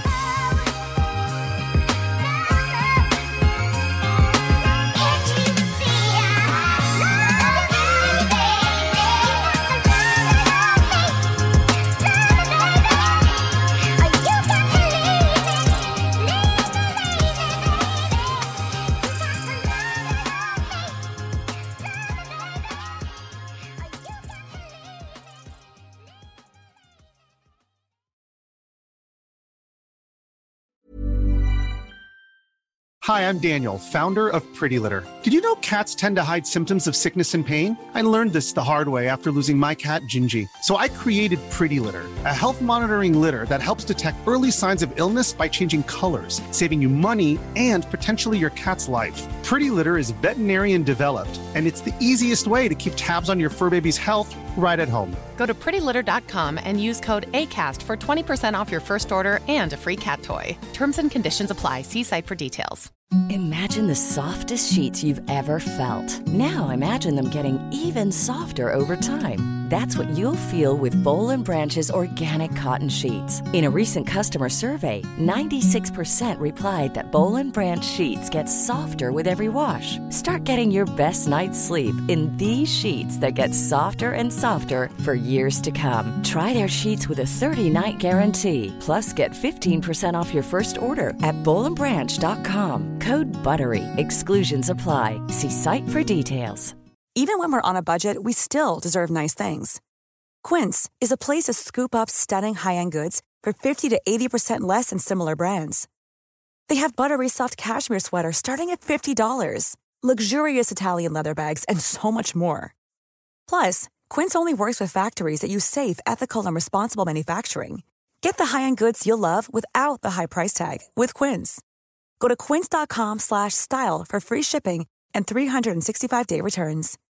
Hi, I'm Daniel, founder of Pretty Litter. Did you know cats tend to hide symptoms of sickness and pain? I learned this the hard way after losing my cat, Gingy. So I created Pretty Litter, a health monitoring litter that helps detect early signs of illness by changing colors, saving you money and potentially your cat's life. Pretty Litter is veterinarian developed, and it's the easiest way to keep tabs on your fur baby's health right at home. Go to pretty litter dot com and use code ACAST for twenty percent off your first order and a free cat toy. Terms and conditions apply. See site for details. Imagine the softest sheets you've ever felt. Now imagine them getting even softer over time. That's what you'll feel with Boll and Branch's organic cotton sheets. In a recent customer survey, ninety-six percent replied that Boll and Branch sheets get softer with every wash. Start getting your best night's sleep in these sheets that get softer and softer for years to come. Try their sheets with a thirty-night guarantee. Plus, get fifteen percent off your first order at boll and branch dot com. Code BUTTERY. Exclusions apply. See site for details. Even when we're on a budget, we still deserve nice things. Quince is a place to scoop up stunning high-end goods for fifty to eighty percent less than similar brands. They have buttery soft cashmere sweaters starting at fifty dollars, luxurious Italian leather bags, and so much more. Plus, Quince only works with factories that use safe, ethical, and responsible manufacturing. Get the high-end goods you'll love without the high price tag with Quince. Go to quince dot com slash style for free shipping and three sixty-five day returns.